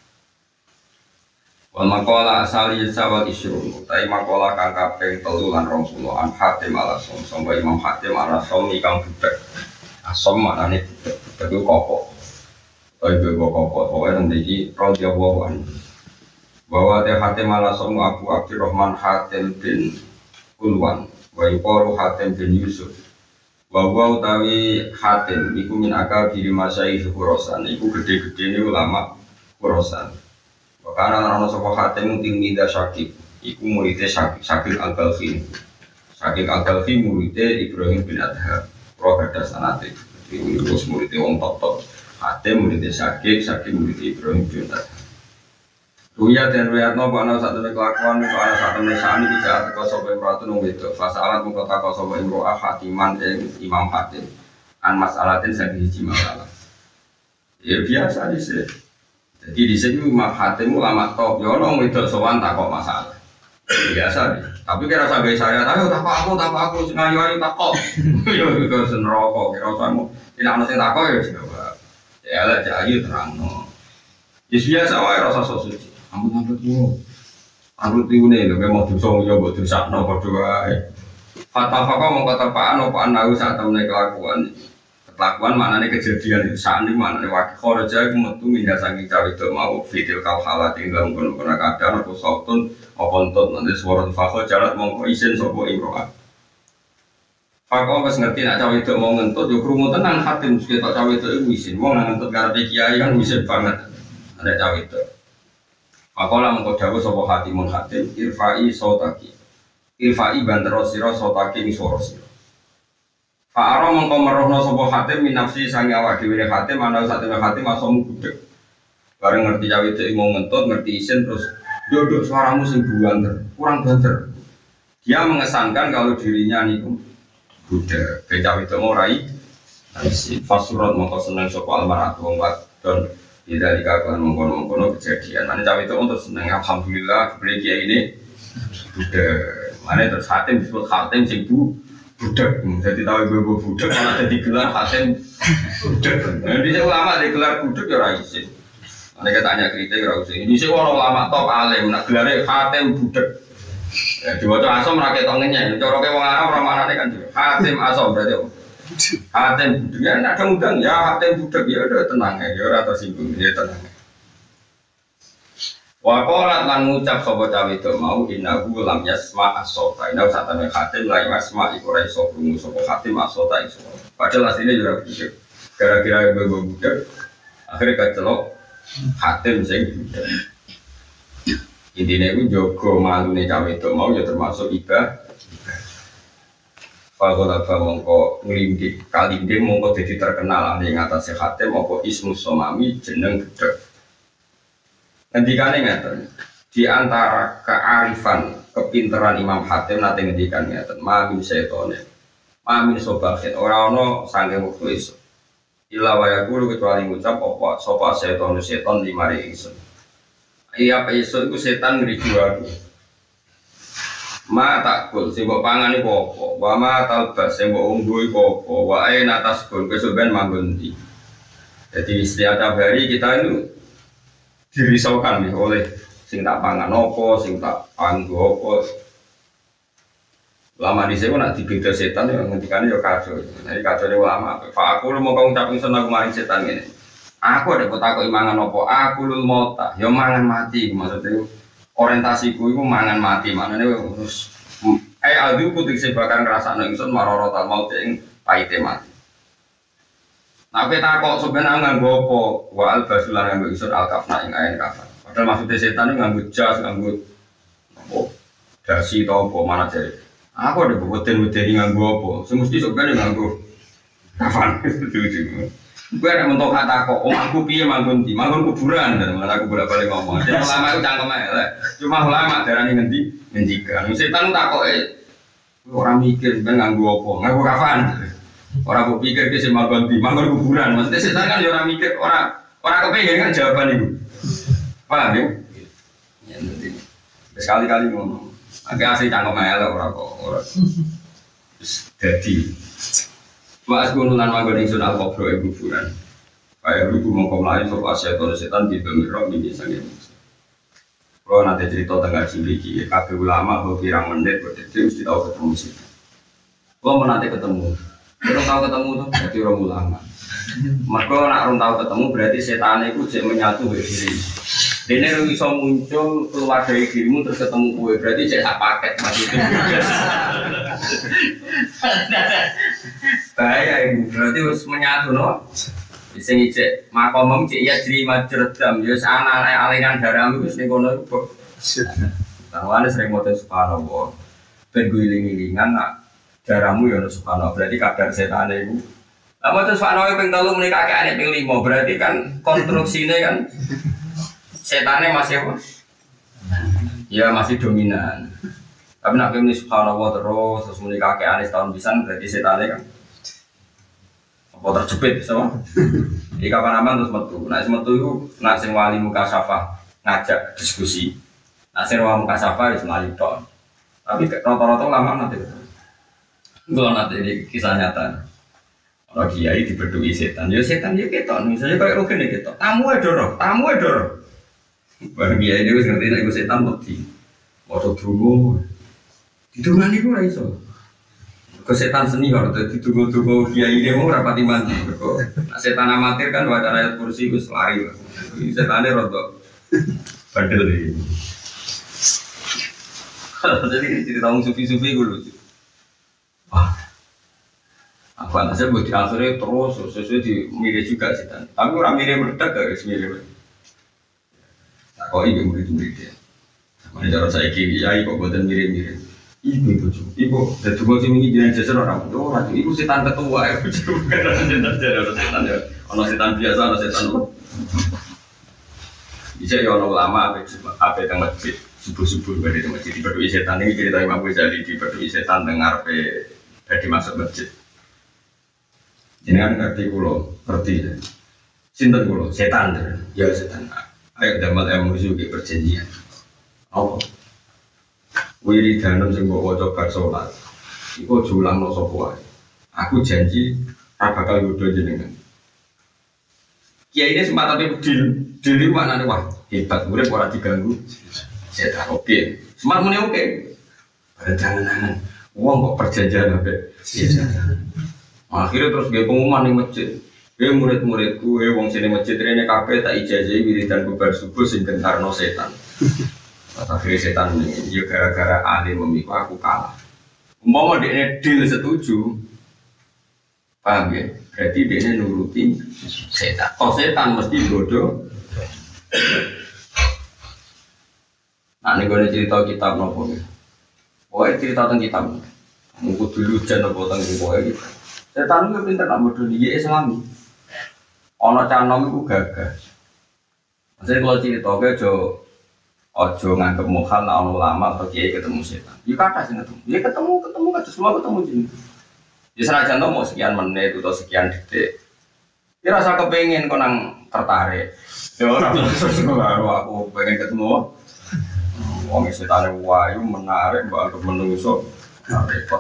Wal maqala asali sawal isyru tai maqala kang kaping telu lan rong puluh an Hatim al-Asom sangga Imam Hatim al-Asom kang budak. Asom maknane budak iku koko. Kaya koko pokoke nang iki radhiyallahu anhu. Bahwa teh Hatim al-Asom Abu Abdurrahman Hatim bin Ulwan wa yuqalu Hatim bin Yusuf. Bahwa utawi Hatim iku min akal diri masyayikh Khurasan iku gede-gedene ulama Khurasan. Karena ana sapa Hatim tingmida Syakib iku muridé Syakib Syakib Al-Balkhi. Syakib Al-Balkhi muridé Ibrahim bin Adham. Pro gadah sanate. Iku muridé wong top-top. Hatim muridé Syakib, Syakib muridé Ibrahim bin Adham. Ruya dan ruyatno ana sak temene kelakuan iku ana sak temene sani bisa teko sapa imratu nang wedok. Fasalat mung teko sapa imro'ah Hatiman ing Imam Hatim. An masalatin sing siji masalah. Ya biasa dhisik. Jadi di sini Imam Hatim ulama top, ya orang wedok sowan takok masalah. Biasa deh. Tapi kira sampai saya tahu takok aku, takok aku ngayu ayu takok. Yo itu senroko kira kamu. Tidak ada yang takok ya coba. Ya lah jayu terangno. Wis biasa wae rasa suci. Ampun-ampun ku. Aku tiune lho mau dosa yo mbok dosakno padha wae. Fatafaka mongko tepaan apa anahu sak temene kelakuan. Kelakuan maknanya kejadian itu saat ini maknanya wakil kharaja itu metu minyak saking cawe itu mau video kau halat tinggal menggunakan kadar atau sautun apa entut nanti suara fakho jalan mongko isin sopo imro'ah fakho pas ngerti nak cawe itu mau ngentut yuk rumu tenang Hatim sekitar cawe itu isin mau ngentut karena kiai kan isin banget ada cawe itu fakho lah mongko dawa sopo Hatimun Hatim irfa'i sautaki irfa'i bandero siro sautaki ini suara siro Fa'ara mengko merohno sapa Hatim min nafsi sange awak dhewe Hatim ana sak temene Hatim asomu budek. Bareng ngerti cawe itu mau ngentut, ngerti isin terus dodok suaramu sing buanter, kurang banter. Dia mengesankan kalau dirinya niku budek. Ke cawe itu mau rai isin. Fasurat mengko seneng sapa almaratu wong wadon tidak dikakuan mengkono-mengkono kejadian. Mane cawe itu untuk seneng alhamdulillah dibeli kiai ini budek. Mane terus Hatim disebut Hatim sing bu budak, jadi tahu ibu budak malah jadi gelar Hatim budak. Jadi saya ulama di gelar budak ya raisin. Mereka tanya kritik raisin. Ini sih orang ulama top alim, nak gelarnya Hatim budak. Ya dua tu asom rakyat tongennya. Cara ke orang Arab orang mana kan juga Hatim asom berarti. Hatim budak ya nak kemudian ya Hatim budak ya udah tenang ya, ya atau singgung ya tenang. Wakolat lan ngucap sapa cawe itu mau innahu lam yasma as-sota. Inna sak temene Hatim la yasma iku ora iso krungu sapa Hatim as-sota iso. Padahal asline yo ora budak. Gara-gara ibu budak. Akhire kecelok Hatim sing budak. Intine iku jaga malune cawe itu mau ya termasuk ibadah. Fakolat mongko nglindik kalinde mongko dadi terkenal ning atase Hatim apa ismu somami jeneng budak. Ngendikane ngeten di antara kearifan kepinteran Imam Hatim nate ngendikan ngeten mamin setone mamin sobahin ora ana sange wektu esuk ila wa yaqulu kecuali ngucap apa sapa seton seton limari ingsun iya apa esuk iku setan ngriku aku ma takul sing mbok pangan iku apa wa ma talbas sing mbok unggo iku apa wa aina tasbun kesuben manggon ndi. Jadi setiap hari kita itu dirisaukan nih oleh sing tak pangan opo, sing tak anggo opo. Lama di sini nak dibeda setan yang ngendikannya ya kacau. Jadi kacau ini lama. Pak aku lu mau kau ngucapin senang kemarin setan ini. Aku ada kota aku imangan opo. Aku lu mau tak, ya mangan mati. Maksudnya orientasiku itu mangan mati. Mana nih terus. Eh adu putih sebakan rasa nengson marorotal mau ting pahite mati. Nah, kita kok sebenarnya nganggo apa? Wa al-basulan nganggo isur al-kafna ing ain kafan. Padahal maksudnya setan itu nganggo jas, nganggo apa? Dasi atau apa mana jari. Aku ada bobot-bobot nganggo apa? Semesti sebenarnya nganggo kafan. Gue ada mentok kata kok, oh aku piye manggon di, manggon kuburan dan malah aku bolak-balik ngomong. Jadi ulama itu cangkemnya, cuma ulama darah ini ngendi, ngendikan. Setan tak kok eh orang mikir sebenarnya nganggo apa? Nganggo kafan. Orang aku pikir ke sini manggon di, manggon kuburan. Maksudnya setan kan orang mikir, orang orang kepengen kan jawaban itu. Paham ya? Ya nanti sekali-kali ngomong. Agak asli cangkem elek ora kok ora. Jadi Mas gunulan manggon ingsun al-qabro ing kuburan. Kaya ibu mongko mlayu sapa setan setan di domiro mini sange. Kalau nanti cerita tentang Jumriki, kabeh ulama kok pirang menit kok dadi mesti tau ketemu sih. Kalau menanti ketemu, kalau tahu ketemu tuh berarti orang ulama. Mereka nak orang tahu ketemu berarti setan itu cek menyatu dengan diri. Dene lu bisa muncul keluar dari dirimu terus ketemu gue berarti cek sak paket maksudnya. Bahaya ini berarti harus menyatu no. Bisa ngecek makomem cek ya jadi macerdam ya sana aliran darahmu wis ning kono kok. Tawane sering moto subhanallah. Ben guling-gulingan nak darahmu ya subhanallah berarti kadar setan iku. Lah moto subhanallah ping telu muni kakekane ping lima berarti kan konstruksine kan setannya masih apa? Ya masih dominan. Tapi nak muni subhanallah terus terus muni kakekane setahun pisan berarti setannya kan apa terjepit sama? Di kapan aman terus metu. Nah metu itu nak sing wali muka syafa ngajak diskusi. Nak sing wali muka syafa wis mlayu tok. Tapi rata-rata lama nanti betul. Kalau nanti ini kisah nyata. Kalau kiai dibedui setan, ya setan ya ketok. Misalnya kayak Rugen ya ketok. Tamu edoro, tamu edoro. Barang kiai ini wis ngerti nek iku setan mati. Moto dungo. Didungani ku ora iso. Kesetan seni kalau ditunggu-tunggu kiai ini mau rapati mandi. Nah, setan amatir kan baca ayat kursi itu lari. Setannya rotok bandel ini. Jadi cerita orang sufi-sufi gue lucu. Wah, aku antasnya buat di akhirnya terus sesuai di mirip juga setan. Tapi orang mirip meledak guys mirip. Tak kau ini murid-murid dia. Mana cara saya kiai kok buatan mirip-mirip. Ibu itu cuy, ibu dari dulu sih mungkin jangan jasa orang itu orang itu setan ketua ya, bukan orang setan jadi orang setan ya, orang setan biasa orang setan apa? Bisa ya orang lama apa apa yang masjid subuh subuh berada di masjid di berdui setan ini cerita Imam Ghazali di berdui setan dengar pe dari masuk masjid. Jangan ngerti kulo, ngerti ya. Sinten kulo, setan ya setan. Ayo dapat emosi juga perjanjian. Apa? Wiridanem sing mbok waca bar salat. Iku julangno sapa wae. Aku janji ora bakal nggodho jenengan. Kiai ini sempat tapi deal, deal itu maknanya wah hebat, urip ora diganggu. Setan oke, sempat muni oke. Pada jangan-jangan, uang kok perjanjian apa? Akhirnya terus gue pengumuman di masjid. Gue murid-muridku, gue wong sini masjid rene kabeh tak ijazahi wiridan bubar subuh sing gentarno setan. Akhirnya setan ini, ya gara-gara ahli memikul aku kalah. Umpama dia deal setuju, paham ya? Berarti dia nuruti setan. Oh setan mesti bodoh. Nah ini gue cerita kitab nopo ya. Pokoknya cerita tentang kitab. Mungkin dulu jangan nopo tentang pokoknya gitu. Setan itu pintar nak bodoh dia Islami. Ono canom itu gagah. Maksudnya kalau cerita gue jo ojo nganggep mukhal nak ono ulama atau kiai ketemu setan. Ya kata sih ketemu. Ya ketemu ketemu kan semua ketemu jenis. Ya senajan to mau sekian menit atau sekian detik. Ya rasa kepengen kok nang tertarik. Ya ora terus aku pengen ketemu. Wong setane wayu menarik mbok anggap menungso repot.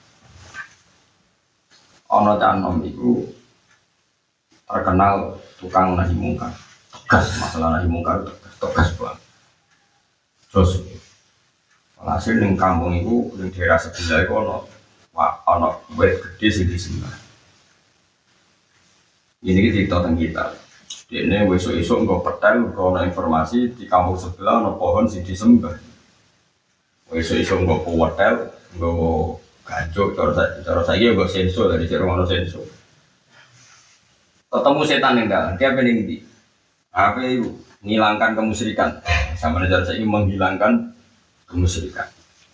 Ana canom iku terkenal tukang nahi mungkar. Tegas masalah nahi mungkar tegas banget. Terus hasil ning kampung iku ning daerah sebelah iku ana ana wit gedhe sing disembah. Ini kita tentang kita. Dene esuk-esuk engko petel engko ana informasi di kampung sebelah ana pohon sing disembah. Esuk-esuk engko petel engko gancuk cara cara saiki engko sensor dari jero ana sensor. Ketemu setan ning dalan, dia pening ndi? Apa itu? Menghilangkan kemusyrikan. Sama cara saiki menghilangkan kemusyrikan.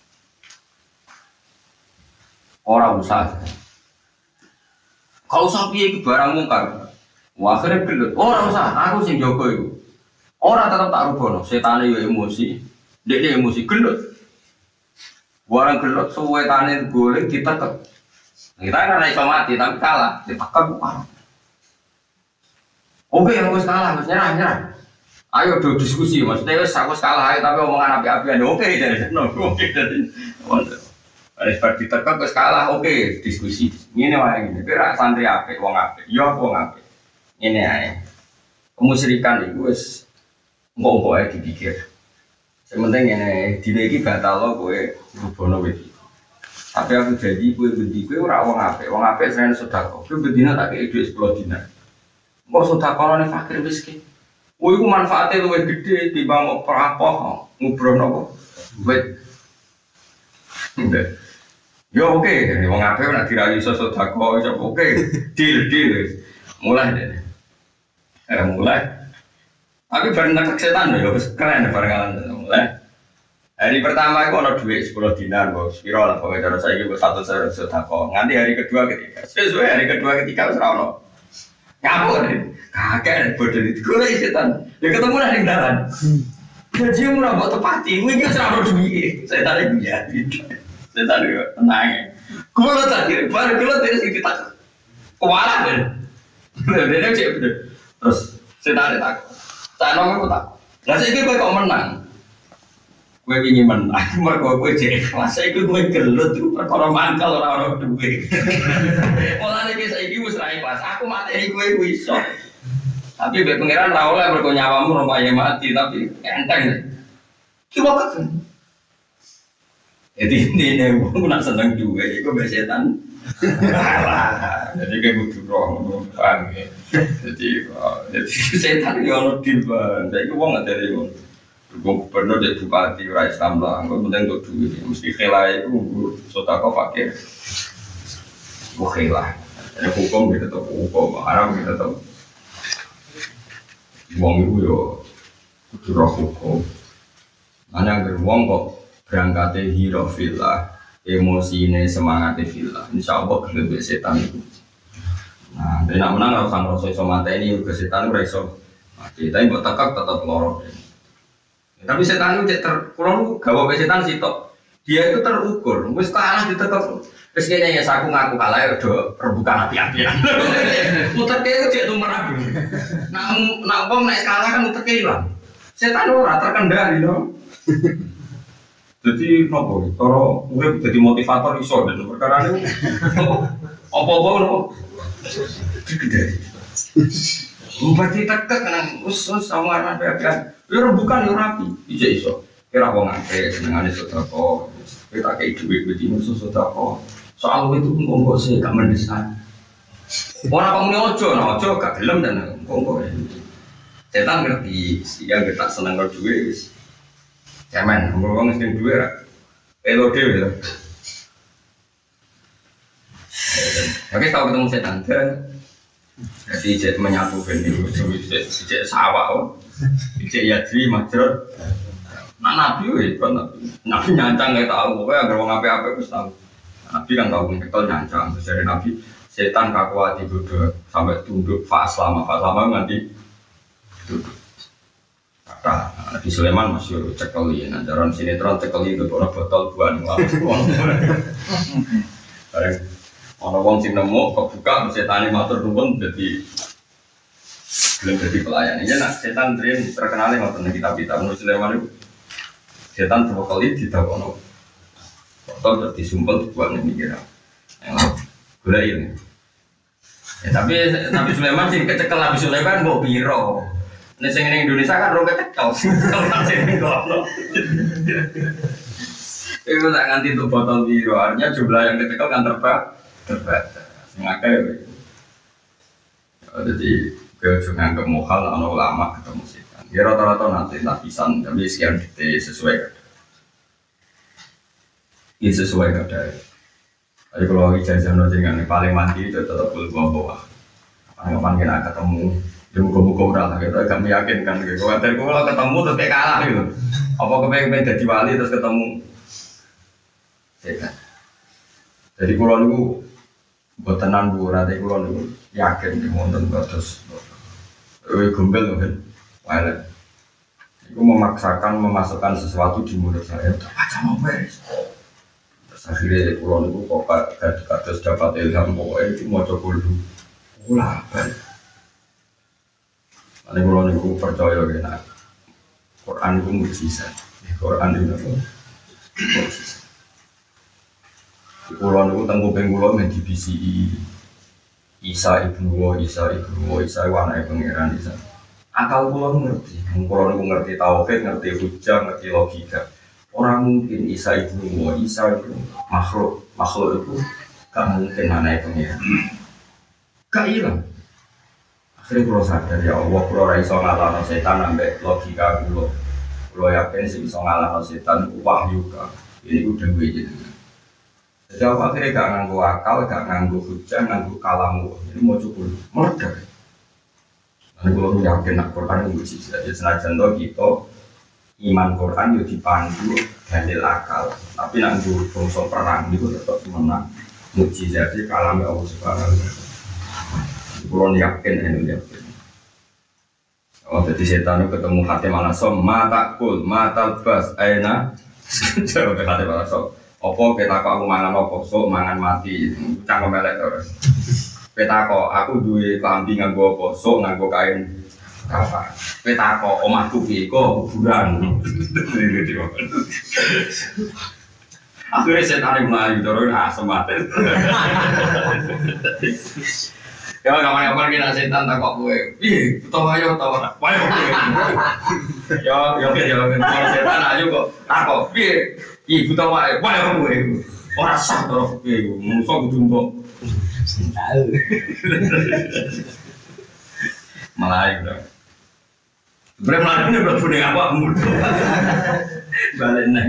Ora usah. Kalau usah piye iki barang mungkar. Wah, akhirnya gelut. Ora usah, aku sing jaga iku. Ora tetep tak rubono, setane yo emosi. Dekne emosi gelut. Barang gelut suwetane golek ditekek. Kita kan ora iso mati tapi kalah, ditekek parah. Oke, yang wis kalah, wis nyerah, nyerah. Ayo do diskusi, maksudnya wis aku kalah tapi omongan api-apian oke dari sana. Oke dari. Harus berarti tekak wis kalah oke diskusi. Ngene wae ngene. Kira santri apik wong apik. Yo wong apik. Ngene ae. Kemusyrikan iku wis engko-engko ae dipikir. Sementing ngene dina iki batal lo kowe rubono wit. Tapi aku jadi kowe bendi kowe ora wong apik. Wong apik senen sedekah. Kowe bendina tak kei dhuwit sepuluh dinar. Engko sedekahane fakir miskin. Kowe iku manfaate luwih gedhe timbang kok prapoh ngubroh napa. Wit. Ndek. Yo oke, okay. Wong apik nek dirayu iso sedekah iso oke. Deal deal. Mulai deh. Era mulai. Tapi bareng nekek setan ya wis keren barengan mulai. Hari pertama itu ada duit sepuluh dinar, bos. Piro lah pokoknya cara saya itu satu saya sedekah. Nanti hari kedua ketiga, sesuai hari kedua ketiga wis ra ono. Ngapur nih, kakek bodoh itu gue setan. Ya ketemu nang ning dalan. Gaji murah buat tepati, gue iki wis ra ono duit. Setan iki ya. Setan iki tenang. Kulo tadi baru kulo terus iki tak. Kualat ben. Dene cek bener. Terus setan tak. Tak nongol tak. Lah saiki kowe kok menang. Kowe ingin menang, mergo kowe jek ikhlas. Saiki kowe gelut perkara mangkal ora ono duwe. Mulane iki saiki wis ra ikhlas. Aku mateni kowe ku iso. Tapi mbek pangeran ra oleh mergo nyawamu rupaye mati, tapi enteng. Ki kok kan. Jadi ini wong nak seneng duwe iku mbek setan. Jadi kayak butuh roh, paham ya? Jadi, jadi setan itu orang dilban. Jadi aku nggak dari orang. Gue gubernur dari bupati rakyat Islam lah. Gue penting untuk duit. Mesti kelai itu sotako fakir. Gue kelah. Ada hukum kita tahu hukum, haram kita tahu. Uang itu yo butuh roh hukum. Mana yang beruang kok berangkatnya hirofilah. Emosi ini semangatnya villa, insya Allah lebih setan itu. Nah, dia nak menang harus sang rasa iso mata ini juga setan itu iso. Kita yang buat tekak tetap lorong. Ya, tapi setan itu ter, kalau gawe setan sih tok, dia itu terukur. Wis kalah di tekak, terus kayaknya ya aku ngaku kalah ya udah rebukan api-apian. Muter kayak itu cek tuh merah. Nak nak bom naik kalah kan muter kayak hilang. Setan itu rata terkendali dong. Jadi nopo, kalau gue jadi motivator iso dan perkara ini apa-apa nopo gede. Berarti tekek kan usus sama anak anak. Ya bukan ya rapi, bisa iso. Kira wong akeh senengane sedekah. Kita kayak duit bedino sedekah. Soal itu engko sih gak mendesak. Ora pamune ojo, ojo gak gelem dan engko. Setan ngerti, sing gak seneng karo duit wis. Cemen, ngomong mesti duwe ra. Elo dhewe lho. Oke, tahu ketemu setan. Jadi jet menyatu ben niku jet sawah kok. Jet yadri majrot. Nah nabi wis kan nabi. Nabi nyancang gak tahu, pokoke anggere wong apik-apik wis tahu. Nabi kan tahu ngekel nyancang, terus dari nabi setan kakuati bodho sampai tunduk fa selama fa selama nganti tunduk. Nah, Nabi Sulaiman masih cekeli, nah jaran sinetron cekeli itu orang botol buah nih bareng orang wong sing nemu kebuka setan matur nuwun jadi belum jadi pelayan. Ini nak setan tren terkenal yang ngoten kitab-kitab Nabi Sulaiman itu setan dua kali ditakono botol terus disumpel buah nih mikir yang lain gula ini. Ya, tapi Nabi Sulaiman sih kecekel Nabi Sulaiman mau biro. Nek sing ning Indonesia kan rong kecekel. Kalau sing ning kono. Itu tak nganti untuk botol biru, artinya jumlah yang kecekel kan terbatas. Terbatas. Sing akeh. Jadi gue juga nganggep mohal ana ulama ketemu setan. Ya rata-rata nanti lapisan tapi sekian detik sesuai kadar. Ini sesuai kadar. Tapi kalau ijazah dengan paling mandi itu tetap boleh bawa. Anggapan kita ketemu. Ya muka-muka udah gitu, agak meyakinkan gitu. Kalau kalau ketemu terus kayak kalah gitu. Apa kepengen jadi wali terus ketemu? Ya kan. Jadi kalau niku buat tenan bu, nanti kalau niku yakin di monten terus. Eh gombel kan, wala. Iku memaksakan memasukkan sesuatu di mulut saya. Baca mau beres. Terus akhirnya kalau niku kok kados dapat ilham pokoknya itu mau coba dulu. Ulah balik. Ini kalau niku percaya kena Quran itu mujizat. Quran itu apa? Mujizat. Pulau itu tengku pengulo men di B C I. Isa ibnu wa Isa ibnu wa Isa wana pangeran Isa. Akal pulau ngerti. Pulau itu ngerti tauhid, ngerti hujjah, ngerti logika. Orang mungkin Isa ibnu wa Isa itu makhluk, makhluk itu gak mungkin aneh pangeran. Gak hilang. Akhirnya pulau sadar ya Allah, pulau raiso ngalahno setan ambek logika pulau. Pulau yakin sih bisa ngalahno setan wahyu ka. Ini udah gue jadi. Jadi aku akhirnya gak nganggu akal, gak nganggu hujah, nganggu kalamu. Ini mau cukup meledak. Dan kalau yakin nak Quran itu mujizat. Jadi senajan toh kita iman Quran itu dipandu dalil akal. Tapi nak nganggu bangsa perang itu tetap menang. Mujizat itu kalamnya Allah Subhanahu wa taala. Kalau yakin, ini yakin. Oh, jadi setan itu ketemu hati malah som, mata kul, mata bas, aina. Jauh ke hati malah som. Opo kita kok aku mangan opo, so mangan mati, cangkem melek terus. Kita kok aku duwe klambi nganggo opo, so nganggo kain kafan. Kita kok omahku piye kok kuburan. Akhirnya setan melayu terus asem mati. Ya kapan-kapan kita setan tak kok kowe. Piye, utawa ayo utawa ora. Wae kowe. Ya ya ya kalau setan ayo kok tak kok piye. Ibu tahu apa? Wah, apa gue? Orang sah terus gue, musuh gue jumbo. Tahu. Melayu dah. Berapa lama ni berapa ni apa mudah? Balik nak.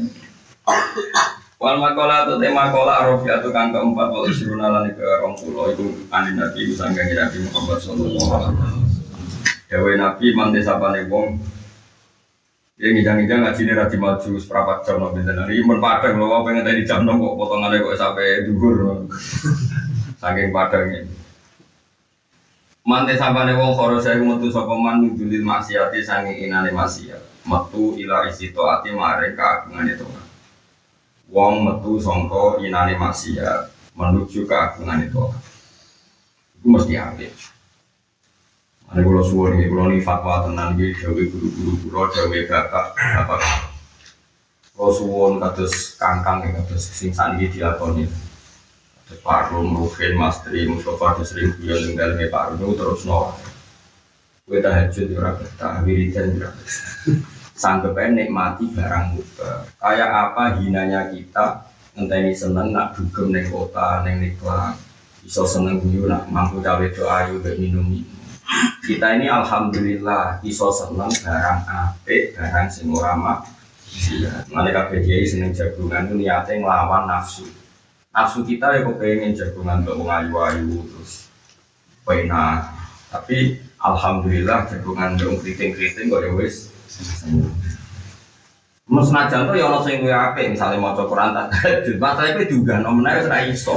Wal makola atau tema kola arofi atau kang keempat walau sirunalan ke orang pulau itu andi nabi usangga nabi Muhammad Sallallahu Alaihi Wasallam. Dewi nabi mante sapane wong. Ya ngidang-ngidang ngaji ini rati maju seperempat jam nabi tenari imun padang loh pengen tadi jam enam kok potongannya kok sampai duhur saking padangnya mante sampane wong karo saya metu sapa man nudulil maksiati sange inane maksiat metu ila isi taati maring kaagungane Tuhan wong metu sangka inane maksiat menuju kaagungane Tuhan itu mesti apik. Ada kalau suwon ini, kalau ini fatwa tenan ini, dawe guru-guru guru, dawe bapak, bapak. Kalau suwon kados kangkang, kados sing sani dilakoni. Kados Pak Rum, Ruhin, Mastri, Mustafa, kados sering guyon tinggal me Pak Rum terus nol. Kowe tahajud ora betah, wiridan ora betah. Sanggepe nikmati barang mubah. Kayak apa hinanya kita ngenteni seneng nak dugem ning kota, ning nikah. Iso seneng guyu nak mampu cawe do ayu mbek minum-minum. Kita ini alhamdulillah iso seneng barang apik, barang sing ora maksiat. Mane kabeh kiai seneng jagungan itu niate nglawan nafsu. Nafsu kita ya kepengin jagungan untuk wong ayu-ayu terus pena. Tapi alhamdulillah jagungan untuk kriting-kriting kok ya wis. Mas senajan to ya ana sing luwih apik, misale maca Quran tahajud, masalah iki diunggahno meneh wis ra iso.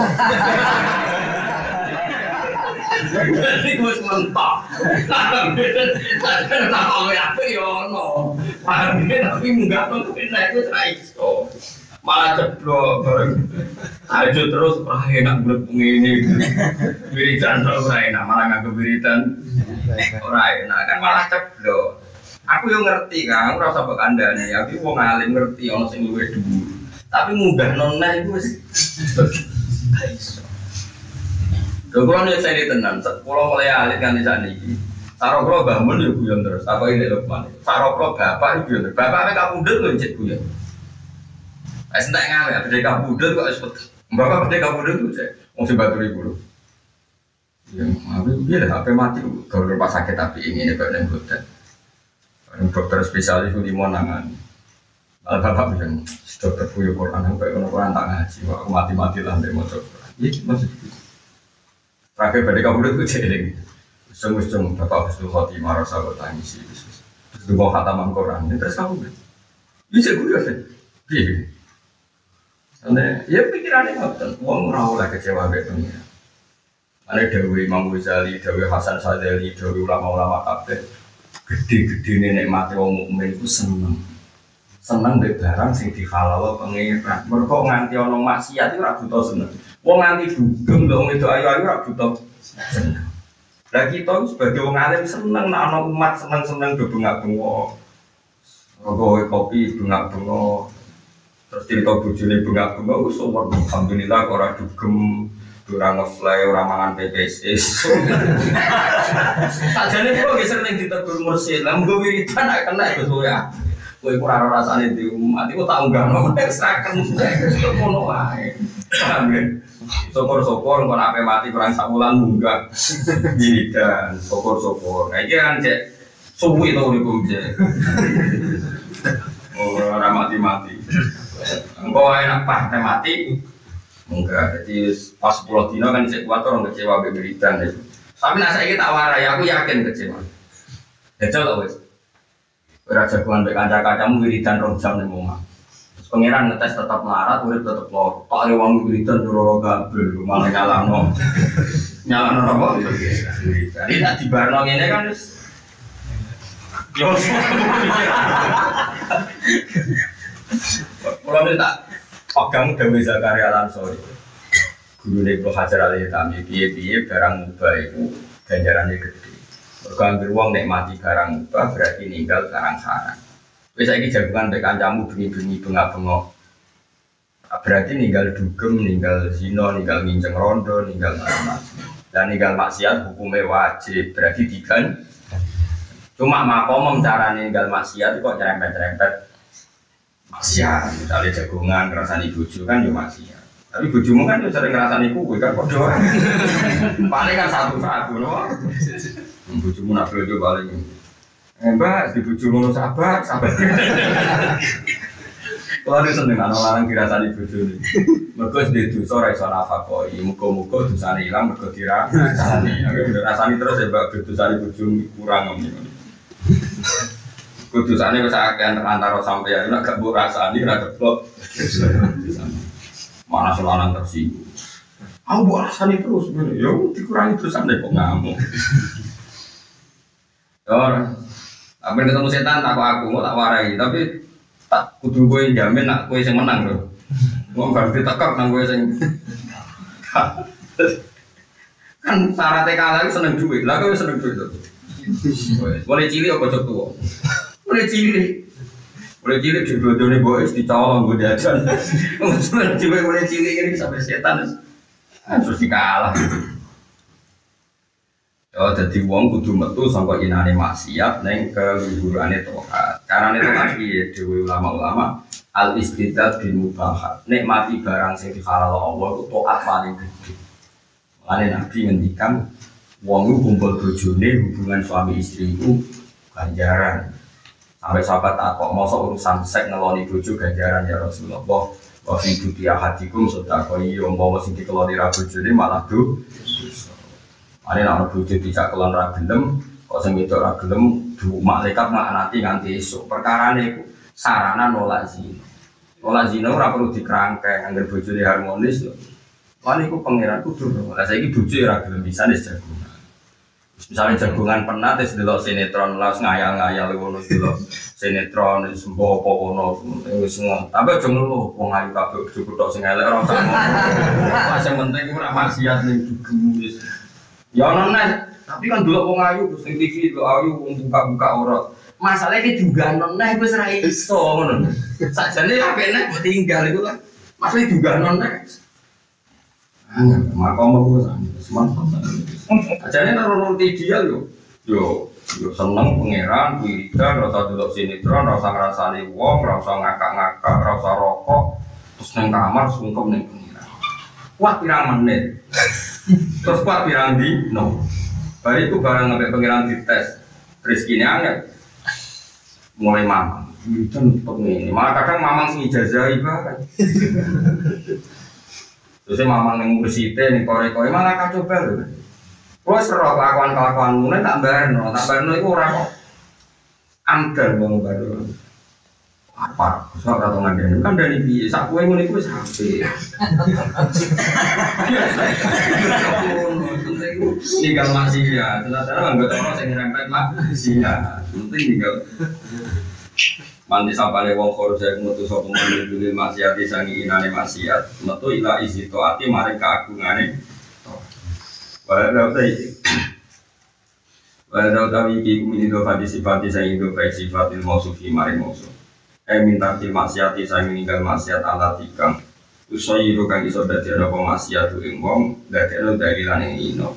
Jadi gue sementok. Karena kalau apa ya no, tapi enggak tuh kita itu raiso, malah ceplok. Aja terus ah enak bener ini, biritan terus enak malah nggak kebiritan, orang enak kan malah ceplok. Aku yang ngerti kan, aku rasa bekandanya, tapi wong alim ngerti orang sing luwih dulu. Tapi munggah nona itu raiso. Kalau nih saya ditenan, kalau mulai alit kan di sana ini, saroklo bangun ya guyon terus. Apa ini Lukman? Saroklo bapak itu guyon terus. Bapaknya kabudut loh cek guyon. Saya sentak ngalah, berdeka kabudut kok sebut. Bapak berdeka kabudut tuh cek, mau sebat ribu loh. Ya, tapi dia dah H P mati. Kalau rumah sakit tapi ini nih badan dokter. Dokter spesialis itu di Monangan. Bapak bilang, dokter punya Quran, sampai orang Quran tak ngaji. Aku mati-mati lah dari motor. Iya, maksud itu. Terakhir pada kamu itu jeling, sungguh-sungguh bapak Husnul Khotimah rasa bertangis itu, itu mau khataman Quran, terus kamu ber, bisa gue deh, iya, karena ya pikirannya nggak uang rawol lah kecewa betulnya, ada Dewi Imam Ghazali, Dewi Hasan Sadali, Dewi ulama-ulama kabeh, gede-gede nenek mati wong mukmin itu seneng, seneng dari barang sing dihalal pengiran, mereka nganti ono maksiat itu ragu tau seneng. Wong nganti dugem lho itu ayu-ayu ra butuh. Lah kita sebagai wong alim seneng nek ana umat seneng-seneng do bengak-bengok. Rokok kopi bengak-bengok. Terus cerita bojone bengak-bengok wis umur alhamdulillah ora dugem, ora ngefly, ora mangan P P S. Sajane kok wis sering ditegur mursyid. Lah mung wiridan nek kena Gus ya. Kowe ora ora rasane di umat iku tak unggahno nek sraken ngono wae. Paham ya? Sopor-sopor engko nek mati kurang sak wulan munggah. Wiridan, sopor-sopor. Nah iki kan cek suwi to uripku cek. Ora mati-mati. Engko enak pas mati. Enggak, jadi pas sepuluh dino kan cek kuat orang kecewa beberitan itu. Tapi nak saya tak warai, aku yakin kecewa. Jajal lah wes. Ora jagoan mbek kanca-kancamu wiridan rong jam ning omah. Terus pangeran ngetes tetap melarat, urip tetep loro. Tak ada wong wiridan loro kabeh, malah nyalano. Nyalano apa? Wiridan. Ini tak dibarno ngene kan wis. Yo. Kalau ini tak pegang Dewi Zakaria Al-Ansori guru Ibnu Hajar Al-Haytami piye-piye barang mubah itu ganjarannya gede. Berganti uang nek mati barang mubah berarti ninggal sarang-sarang. Wis saiki jagungan mek kancamu bengi-bengi bengak-bengok. Berarti ninggal dugem, ninggal zina, ninggal nginceng rondo, ninggal macam-macam. Dan ninggal maksiat hukumnya wajib berarti digan. Cuma makom cara ninggal maksiat kok nyerempet-nyerempet maksiat, misalnya jagongan, ngerasani bojo kan ya maksiat. Tapi bojomu kan ya sering ngerasani kue kan kok doang. Paling kan satu-satu loh. Bojomu nak bojo paling. Eh mbak, di bojomu no sabar, sabar. Kalau ada seneng anak larang dirasani bojo ini. Mereka sedih dosa raiso nafakoi. Muka-muka dosanya hilang, mereka dirasani. Rasani terus ya mbak, dosanya bojo kurang ngomong. Kudusannya bisa akan antara sampai ya, nak gak bu rasani, nak keblok. Mana selanang tersinggung. Aku bu rasani terus, ya dikurangi terusan deh kok ngamuk. Orang, apa ketemu setan tak aku mau tak warai, tapi tak kudu gue jamin nak gue yang menang loh. Mau berarti tekak nang gue yang kan syaratnya kalah seneng duit, lah gue seneng duit tuh. Boleh cilik apa cok tua? Mulai cilik, mulai cilik di bodohnya boys dicolong gue jajan. Mulai cilik mulai cilik ini sampai setan terus dikalah. Oh, jadi uang kudu metu sampai inane maksiat neng keluhurannya tohat. Karena itu lagi dewi ulama-ulama al istidad bin mubahat. Nek mati barang sing dihalal Allah itu tohat paling gede. Makanya Nabi ngendikan uang itu kumpul bojone hubungan suami istri itu ganjaran. Sampai sahabat takok mosok urusan seks ngeloni bojo ganjaran ya Rasulullah. Wa fi duti ahadikum sedekah yo umpama sing dikeloni ra bojone malah do. Ane nek bojo dijak kelon ra gelem, kok sing wedok ra gelem du malaikat nganti nganti esuk. Perkarane iku sarana nolak zina. Nolak zina ora perlu dikrangkeng angger bojone harmonis lho. Lan iku pangeran kudu. Lah saiki bojo ra gelem bisa wis jago. Misalnya jagungan pernah tes delok sinetron lah ngayal-ngayal ngono delok sinetron sembo apa ngono wis ngono. Tapi aja ngono wong ayu kabeh cukup tok sing elek ora usah ngono. Sing penting ora maksiat ning dugem wis. Ya ono neh, tapi kan delok wong ayu terus ning T V delok ayu wong buka-buka ora. Masalahnya juga ono neh wis ra iso ngono. Sakjane apik neh mbok tinggal iku kan. Masalah juga ono neh. Makom aku semangat. Ajane nang ideal yo. Yo, yo seneng pangeran, wiridan, rasa delok sinetron, rasa ngrasani wong, rasa ngakak-ngakak, rasa rokok, terus nang kamar sungkem ning pangeran. Kuat pirang menit. Terus kuat pirang dino. Bari itu barang ngambek pangeran dites. Rezekine angel. Mulai mamang. Wiridan tetep ngene. Malah kadang mamang sing ijazahi barang. Terus mamang ning mursite ning kore-kore malah kacau bae. Kuwi seru kelakuan-kelakuanmu nek tak barno, tak barno iku ora kok amdal wong baru. Apa? Sok ora tau ngandani. Kan dari piye? Sak kowe ngene iku wis apik. Tinggal maksiat. Ternyata anggap orang sing ngrempet maksiat. Penting tinggal Manti sapane wong korja metu sapa meneh dhewe maksiat sangi inane maksiat metu ila isi taati maring kaagungane. Wa Walau tawi iki kumini do fati sifati saya itu baik sifatil mausufi mari mausuf. Eh minta til maksiati saya meninggal maksiat ala tikang. Usayiru kang iso dadi ana apa maksiat ing wong dadekno dalilan ing ino.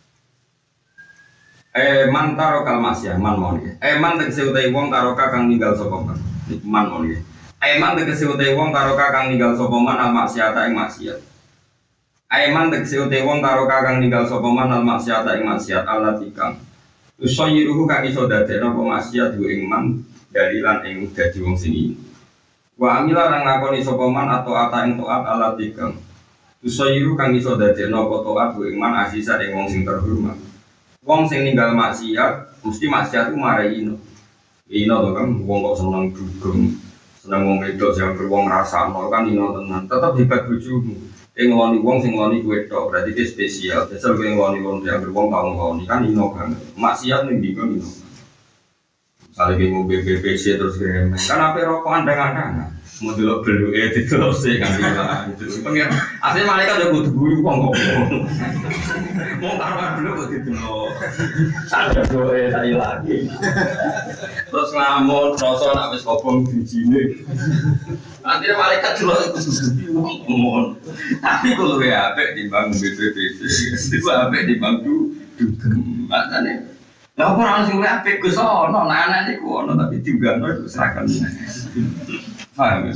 Eh man taro kal maksiat man mon. Eh man tegese utahe wong karo kang ninggal sapa man. Man mon. Eh man tegese utahe wong karo kang ninggal sapa man al maksiat ing maksiat. Aiman tegese ute wong karo kakang ninggal sapa man al maksiat ing maksiat ala tikang. Usayiruhu kang iso dadekno apa maksiat ing man dalilan ing dadi wong sing. Wa amila nang lakoni sapa man atau ata ing taat ala tikang. Usayiru kang iso dadekno apa taat ing man asisa ing wong sing terhormat. Wong sing ninggal maksiat mesti maksiat ku marai ino. Ino to kan wong kok seneng dugem, seneng wong wedok sing wong rasakno kan ino tenan. Tetep hebat bojomu. Yang ngeloni wong sing ngeloni kue tok berarti itu spesial. Biasa gue ngeloni wong yang beruang tau ngeloni kan ino kan. Maksiat nih bingung ino. Misalnya gue mau B B C terus gue kan apa rokokan dengan kan. Mau dulu belu eh terus sih kan bilang itu. Pengen asli malaikat udah butuh guru kok ngomong. Mau taruhan dulu buat itu loh. Saya gue saya lagi. Terus ngamun, rasa nak wis kobong di sini. Nanti malaikat dulu itu ngomong. Tapi kalau ya apik timbang B B C, itu apik timbang du dugem. Makane lha ora ono sing apik Gus ono, anak niku ono tapi diunggahno itu seragam. Paham ya?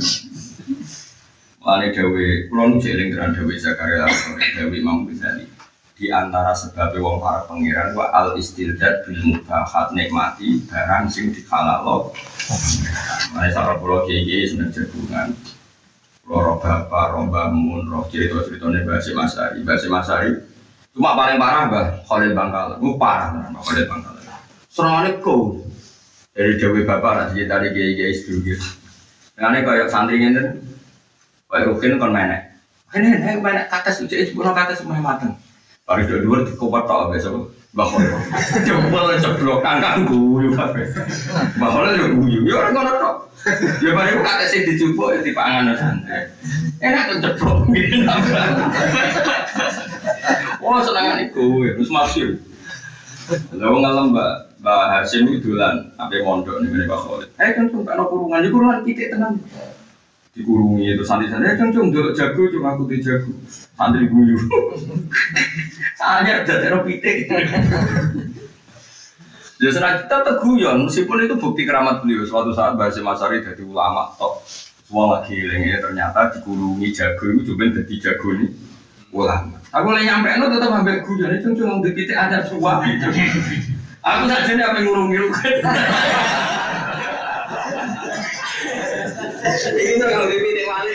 Mulane dawe kula nu jeling tenan dawe Zakaria dawe Imam Ghazali. Di antara sebab wong para pangeran wa al istildad bil mubahat nikmati barang sing dihalalo. Mulane sareng kula iki seneng jagungan. Loro bapak, romba mun, roh cerita-ceritanya Mbah Hasyim Asy'ari. Mbah Hasyim Asy'ari cuma paling parah Mbah Khalil Bangkalan. Ku parah Mbah Khalil Bangkalan. Serangane go. Dari dewe bapak ra cerita iki kiai sedulur. Ngene kaya santri ngene. Kaya rukin kon menek. Kene nek menek kates ujek sepuro kates meh mateng. Bari dhuwur dikopot tok besok. Mbah Khalil. Jempol ceblok kangkang guyu kabeh. Mbah Khalil yo guyu. Yo ora ngono tok. Ya bari kok kates sing dijupuk ya dipangan santai. Enak tuh ceblok ngene. Oh senengan iku wis masyhur. Lha wong ngalem Mbak Mbak Hasyim itu dolan ape mondok ning ngene Pak Khalid. Eh kan cung karo kurungan iku kurungan titik tenan. Dikurungi itu santri-santri eh cung ndelok jago cuma aku di jago. Santri guyu. Soalnya dadekno pitik. Ya senang kita teguyon meskipun itu bukti keramat beliau. Suatu saat Mbah Hasyim Asy'ari dadi ulama tok. Semua lagi eling ternyata dikurungi jago itu coba dadi jago ini ulama. Aku lagi nyampe no tetap ambek guyon itu cuma di titik ada suap gitu. Aku saja nih apa ngurungi lu kan. Ini tuh kalau di titik wali.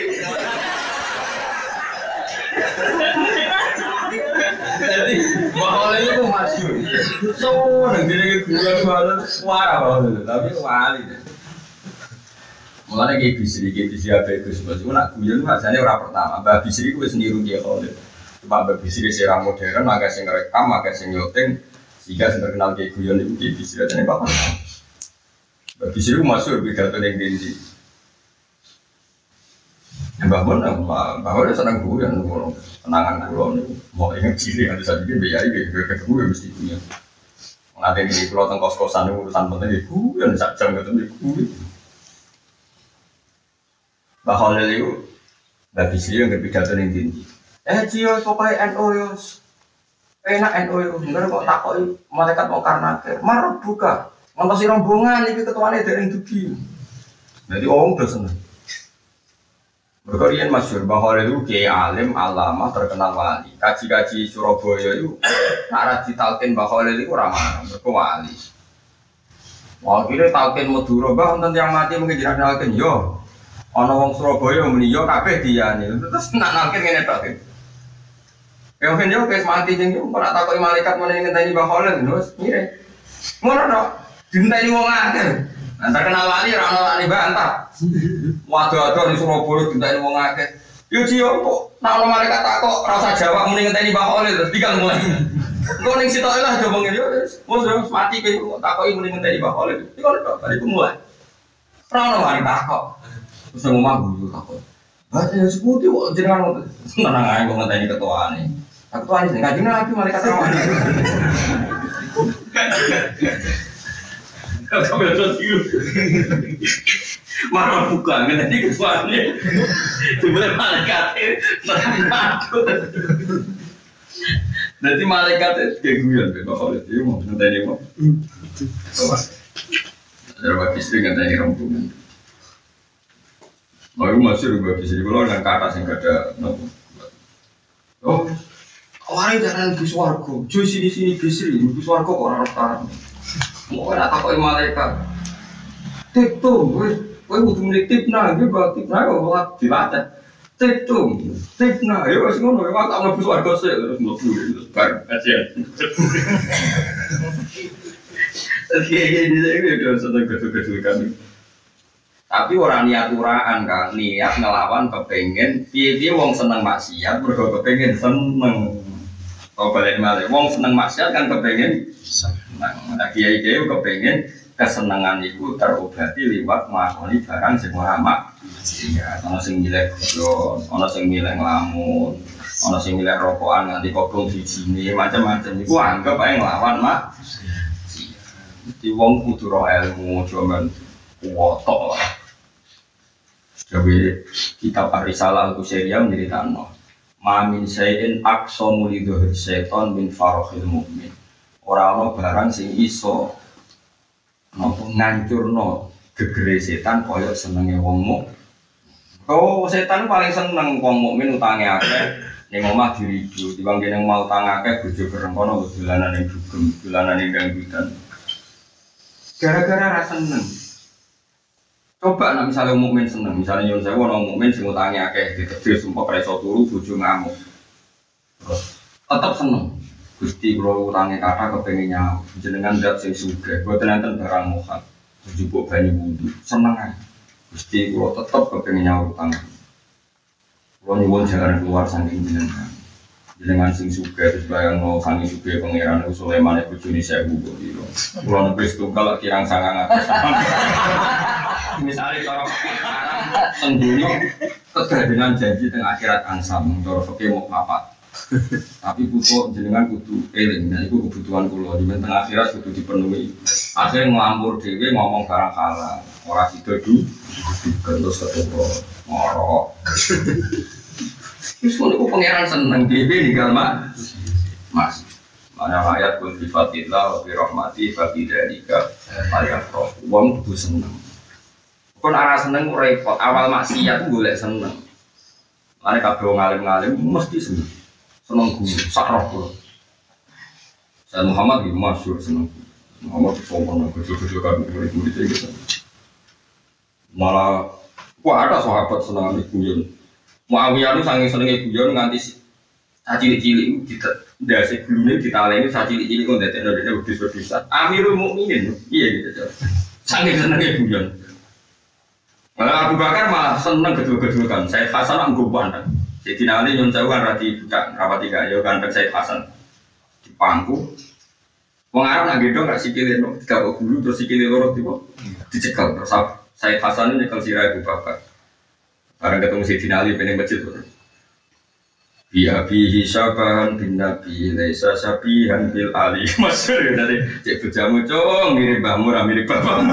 Jadi bahwa itu masyhur. So nanti lagi guyon banget suara banget tapi wali. Mulane iki bisri iki bisri ape Gus Bos. Nak guyon rasane ora pertama. Mbah Bisri ku wis niru dia Khalid. Mbah Bisri sira modern, agak sing rekam, agak sing nyuting. Sehingga sing terkenal kayak guyon itu di Bisri ajane Pak. Mbah Bisri ku masyhur pidato ning ndi. Mbah Mon, Mbah Mon seneng guyon ngono. Kenangan kula niku. Mau inget cilik ada saja iki biaya iki ketemu mesti guyon. Nanti iki kula teng kos-kosan urusan penting iki guyon sak jam ketemu guyon. Mbah Khalil itu, Mbah Bisri yang berpidato ning ndi. Eh Cio pokoknya N O yo. Enak N O yo. Enggak kok takoki malaikat mau karena akhir. Marah buka. Ngantosi rombongan iki ketuane dereng dugi. Dadi wong udah seneng. Berkorian masyhur Mbah Khalil itu kiai alim, alama, terkenal wali. Kaji-kaji Surabaya itu arah ditalkin Mbah Khalil itu ramah, mergo wali. Wah kira talkin Madura Mbah wonten yang mati mungkin jenengan talkin yo. Ana wong Surabaya muni yo kabeh diyane. Terus nak nalkin ngene tok. Ya kan yo wis mati jeng yo ora takoki malaikat meneh ngenteni Mbah Khalil terus ngire. Ngono tok. Dinteni wong akeh. Nah terkenal wali ora ono lali bantah. Waduh-waduh di Surabaya dinteni wong akeh. Yo Cio kok nak ono malaikat takok rasa jawab muni ngenteni Mbah Khalil terus digal mulai. Kok ning sitoke lah coba ngene yo wis wis mati ke takoki muni ngenteni Mbah Khalil. Iki kok tok bariku mulai. Ora ono wali takok. Terus ngomong guru takut. Baca yang seputih kok jenengan tenang aja kok ngenteni ketuane. Ketuane sing kanjeng Nabi malaikat rawan. Kamu terus itu, marah buka, nanti kesuaannya, sebenarnya malaikatnya takut. Nanti malaikatnya kayak guyon, kalau itu mau nanti mau. Ada bagi istri nanti rombongan. Mau masuk bagi istri kalau dengan kata sing ada nopo. Oh, orang jangan bus warga, cuy sini sini bisri, bus warga orang orang. Mau nak takoi malaikat. Tip tuh, gue gue butuh milik tip nah, gue bawa tip nah, gue bawa dibaca. Tip tuh, tip nah, ya masih ngono, ya mak tak nabus warga sih, terus mau pulang, terus bar, kasihan. Kayak gini saya gue udah seneng gedul-gedul kan. Tapi orang niat uraan kan, niat ngelawan kepengen, piye-piye wong seneng maksiat, mergo kepengen seneng. Kau balik malah, wong seneng maksiat kan kepengen seneng. Nah, kiai-kiai kepengen kesenangan itu terobati lewat mengakoni barang sing ora maksiat. Ana sing milih godhong, ana sing milih nglamun, ana sing milih rokokan nganti kobong dijine, macam-macam iku anggap ae nglawan maksiat. Di wong kudu ro ilmu cuman wotok lah. Jadi kitab Ar-Risalah Al-Qusairiyah menceritakan Mamin sayin aqsamu lidhuhir syaitan min farohil mu'min. Orang-orang barang sing iso nopo ngancurno gegere setan koyok senenge wong mukmin. Oh, setan paling seneng wong mukmin utange akeh ning omah diridu, timbang kene mau utang akeh bojo kerengkono dolanan ning dugem, dolanan ning dangdutan. Gara-gara ra seneng. Coba nek misale mukmin seneng, misale nyuwun sewu ana mukmin sing utange akeh ditebus sumpah ora iso turu bojo ngamuk. Terus tetep seneng. Gusti kula utange kata kepengin nyaur, jenengan ndak sing sugih, boten enten barang mohon. Njupuk banyu wudu, seneng ae. Gusti kula tetep kepengin nyaur utang. Kula nyuwun jangan keluar saking jenengan. Jenengan sing sugih terus bayangno saking sugih pangeran Sulaiman bojone sewu kok iki. Kula nepis tunggal kirang sangang atus. Misale cara tengguno kedadenan janji teng akhirat ansam, cara fikih mau papat. Tapi putu jenengan kudu eling, nah itu kebutuhan kula di tengah akhirat kudu dipenuhi. Akhirnya nglampur dhewe ngomong barang halal, ora sida du gentos ketemu ngorok. Wis ngono pangeran seneng dhewe ninggal Mas. Mas. Mana ayat kul bi fadillah wa bi rahmati fa bi dzalika falyafrah. Wong kudu seneng. Kon arah seneng repot, awal maksiat golek seneng. Mane kabeh wong alim-alim mesti seneng. Seneng guru, sakroh guru. Saya Muhammad itu masyhur seneng guru. Muhammad sombong, kecil-kecil kan murid-murid itu. Malah, wah ada sahabat seneng ambil guyon. Muawiyah itu saking senengnya guyon nganti cilik-cilik itu dasi gulune ditaleni cilik-cilik kok ndadekno dene wedhus-wedhusan. Amirul Mukminin, iya gitu. Saking senengnya guyon. Malah Abu Bakar malah seneng gedul-gedulkan. Saya Hasan anggo pandang. Jadi nanti nyun sewu kan rati budak rapati gaya kan Said Hasan di pangku. Wong Arab nak gedong gak sikile no, tidak kok gulu terus sikile loro tiba dicekal terus Said Hasan ini nyekel sirah Abu Bakar. Bareng ketemu Sayyidina Ali pengen masjid terus. Biya bihi syabahan bin Nabi laisa syabihan bil Ali. Masyhur dari cek bojamu cung mirip mbahmu ra mirip bapakmu.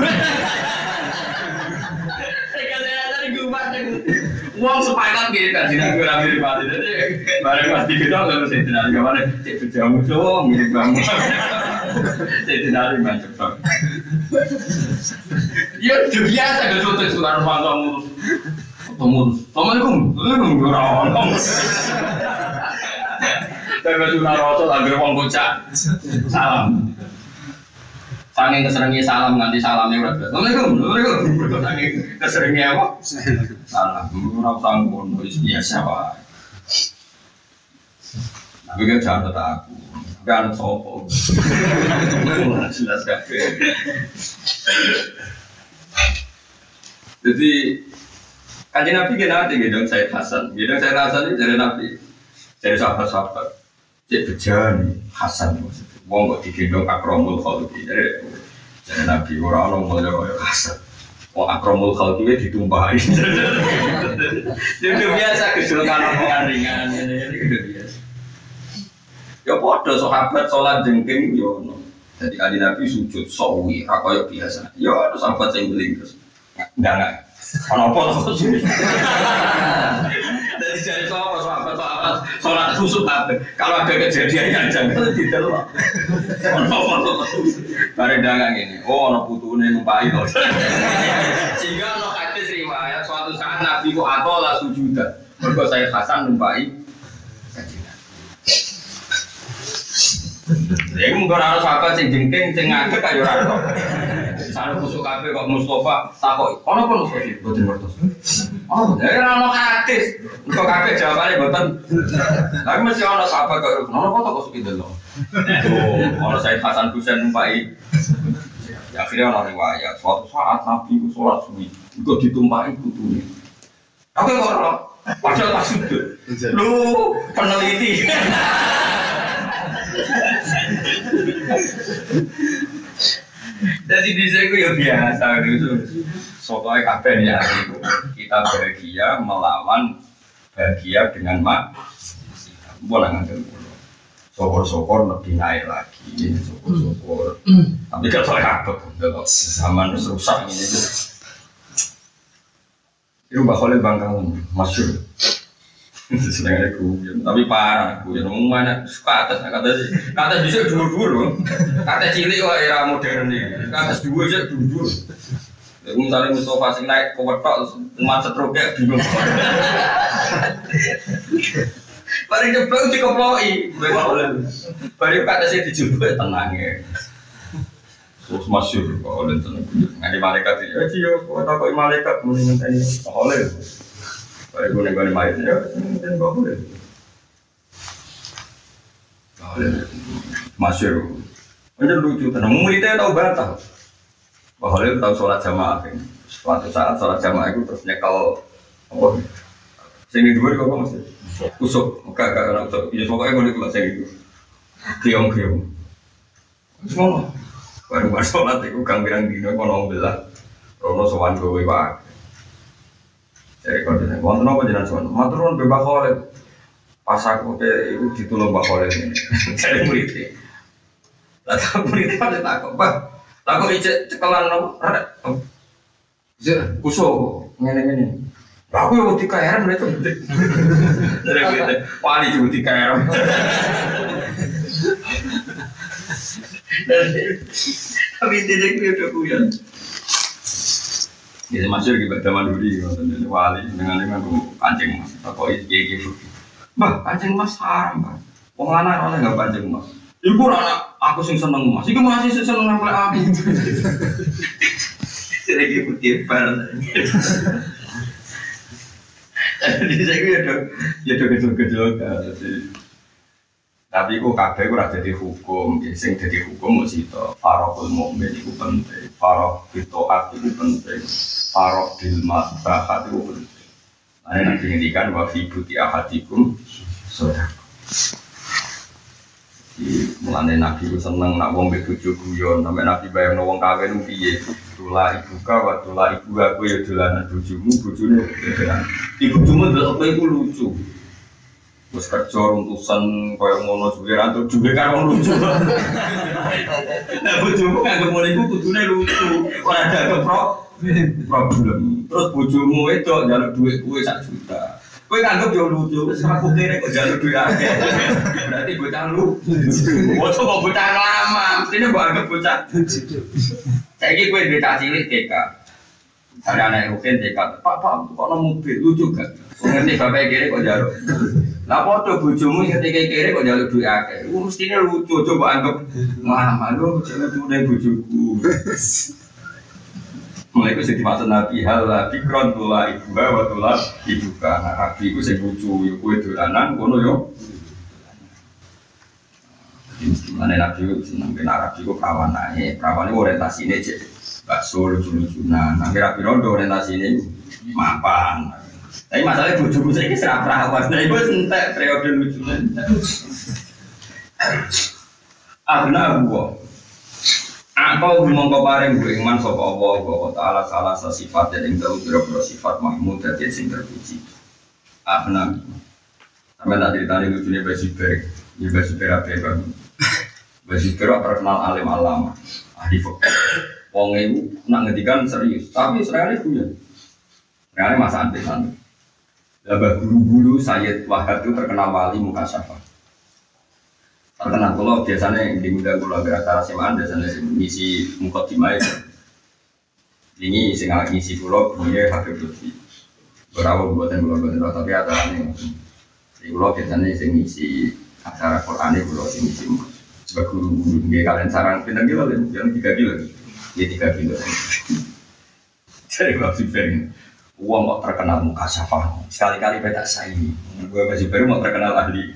Uang sepakat gitu kan, jadi gue ramai ribet jadi bareng pasti kita nggak bisa dinari kemana, cek berjamu dong, mirip kamu, cek dinari macam apa? Ya udah biasa gak tutup suara rumah kamu, kamu, assalamualaikum, assalamualaikum, orang, tapi suara rasul agar uang bocah, salam. Saking keseringnya salam nganti salamnya udah biasa. Assalamualaikum, assalamualaikum. Saking keseringnya apa? Salam. Orang sanggup, biasa pak. Tapi kan jangan kata aku. Kan sopo. Jelas kafe. Jadi kaji Nabi kita ada gedong Said Hasan. Gedong Said Hasan itu dari Nabi, dari sahabat-sahabat. Cek bejani Hasan maksudnya. Wong kok digendong akromul khalqi dari dari Nabi orang orang mulai Hasan. Wong akromul khalqi ditumpahi. Jadi biasa kesulkan omongan ringan ini ini biasa. Ya podo sahabat sholat jengking yo. Jadi kali Nabi sujud sawi, rakoyok biasa. Ya ada sahabat yang beling terus. Enggak enggak. Kenapa lah sujud? Jadi jadi sahabat sahabat sahabat sholat khusus apa? Kalau ada kejadian yang jangan ditelok. Kenapa lah? Bareng dagang ini. Oh, ono putune numpai to. Sehingga ono hadis riwayat suatu saat Nabi ku atola sujudan. Mergo saya Hasan numpai ya mungkin ada sahabat yang jengking, yang ngadek kayak orang itu misalnya kusuk kafe kok Mustafa takut ono pun Mustafa sih, betul betul oh, ya kan ono hadis untuk kafe jawabannya betul tapi masih ono sahabat kok ono kok tak kusuk itu loh ono Said Hasan Husain numpai ya akhirnya ono riwayat suatu saat Nabi itu sholat suwi itu ditumpahi kutunya aku kok ono padahal pas sujud lu peneliti jadi di sini ya biasa gitu. Soalnya kapan ya kita bahagia melawan bahagia dengan mak. Boleh ngambil dulu. Sokor-sokor lebih naik lagi, sokor-sokor. Tapi kalau saya apa? Kalau zaman rusak ini itu. Itu bakal bangkang masyur. Sedang aku, tapi parah aku. Yang ngomong mana suka atas, kata sih, kata bisa dulu-dulu, kata cilik wah era modern nih, kata dua aja dulu-dulu. Misalnya Mustafa sing naik ke wetok, umat setruknya bingung. Paling jebak dikeploi, baru kata saya dijebak tenang ya. Terus masyur kok oleh tenang. Ngadi malaikat ya, cio, kau tak kau malaikat mendingan tadi oleh. Baik gue nih gue nih main ya, dan gue boleh. Masyur, macam lucu. Tenang, muridnya tahu batal. Bahwa tahu sholat jamaah. Suatu saat sholat jamaah itu terus nyekel apa? Sini dua kok masih kusuk, enggak enggak enggak kusuk. Ini pokoknya gue nih kalau saya gitu, kriong kriong. Semua, baru baru sholat itu kang bilang dino kono belah, rono sowan gue pak. Jadi kalau dia ngomong apa jenazah sowan, maturun bebas Khalid. Pas aku ke itu ditolong Mbak Khalid ini, jadi muridnya. Lalu muridnya pada takut, Pak. Takut ijek cekelan no, ada. Ijek kusuk, ngene-ngene. Aku yang uti kairan itu. Dari muridnya, wali juga uti kairan. Tapi tidak udah punya. Ini masuk di zaman dulu di wali dengan dengan kancing mas, atau ini gitu. Bah kancing mas haram bah. Wong lanang orang nggak kancing mas. Ibu anak aku sing seneng mas. Ibu masih seneng nempel aku. Sedikit putih bar. Jadi saya kira ya do kecil-kecil kan. Tapi kok kabeh ora dadi hukum, sing dadi hukum mesti to faraqul mukmin iku penting, faraq fitoat iku penting, faraq bil mabahat iku penting. Ane nek ngendikan wa fi buti ahadikum sedekah. Di mulane Nabi ku seneng nak wong mbek bojo guyon, sampe Nabi bayangno wong kawin piye. Tula ibuka wa tula ibu aku ya dolanan bojomu, bojone dolanan. Ibu cuma delok kowe iku lucu. Wes kerja runtusan koyo ngono suwe ra entuk duwe karo lucu. Nah bojomu kanggo ngono iku kudune lucu, ora ada problem. Terus bojomu wedok njaluk dhuwit kowe sak juta. Kowe nganggep yo lucu, wis aku kene kok njaluk dhuwit akeh. Berarti bocah lu. Bocah kok bocah lama, mestine mbok anggap bocah. Saiki kowe duwe cah cilik T K. Ada anak rukin T K. Pak, Pak, kok ono mobil lucu gak? Ngerti bapak kere kok njaluk. Lah padha bojomu ketika kere kok njaluk duit akeh. Ku mestine lucu coba anggap mah lu lucu-lucune bojoku. Mulai itu sing dimaksud Nabi hal fikron tula ibu wa tula ibu ka. Nabi iku sing lucu yo kowe dolanan ngono yo. Mane Nabi iku seneng ben Nabi iku kawan ae. Kawane orientasine cek bakso lucu-lucunan. Nang kira pirondo orientasine mapan. Tapi masalahnya bojomu saiki serap rawas. Nah iku entek periode lucunya. Abna gua. Apa mongko paring gue iman sapa Allah wa taala salah sifat yang dalu pira-pira sifat mahmud dadi sing terpuji. Abna. Sampe tak critani lucune Basiber, ya Basiber ape kan. Basi kira terkenal alim alama, ahli fikih. Wong itu nak ngedikan serius, tapi sebenarnya punya. Sebenarnya masa antik-antik. Labah guru-guru Sayyid Wahab itu terkenal wali mukasyafah. Terkenal kalau biasanya di muda kalau beratara semaan biasanya ngisi mukadimah itu. Ini sing ngisi pulau punya Habib Lutfi. Berapa buatan pulau-buatan tapi acaranya. Di pulau biasanya sing ngisi acara Quran itu pulau sing ngisi. Sebab guru-guru dia kalian sarang pindah kilo, yang tiga kilo, dia tiga kilo. Jadi masih beri, uang kok terkenal muka syafah, sekali-kali beda saya ini, gue masih beri mau terkenal ahli.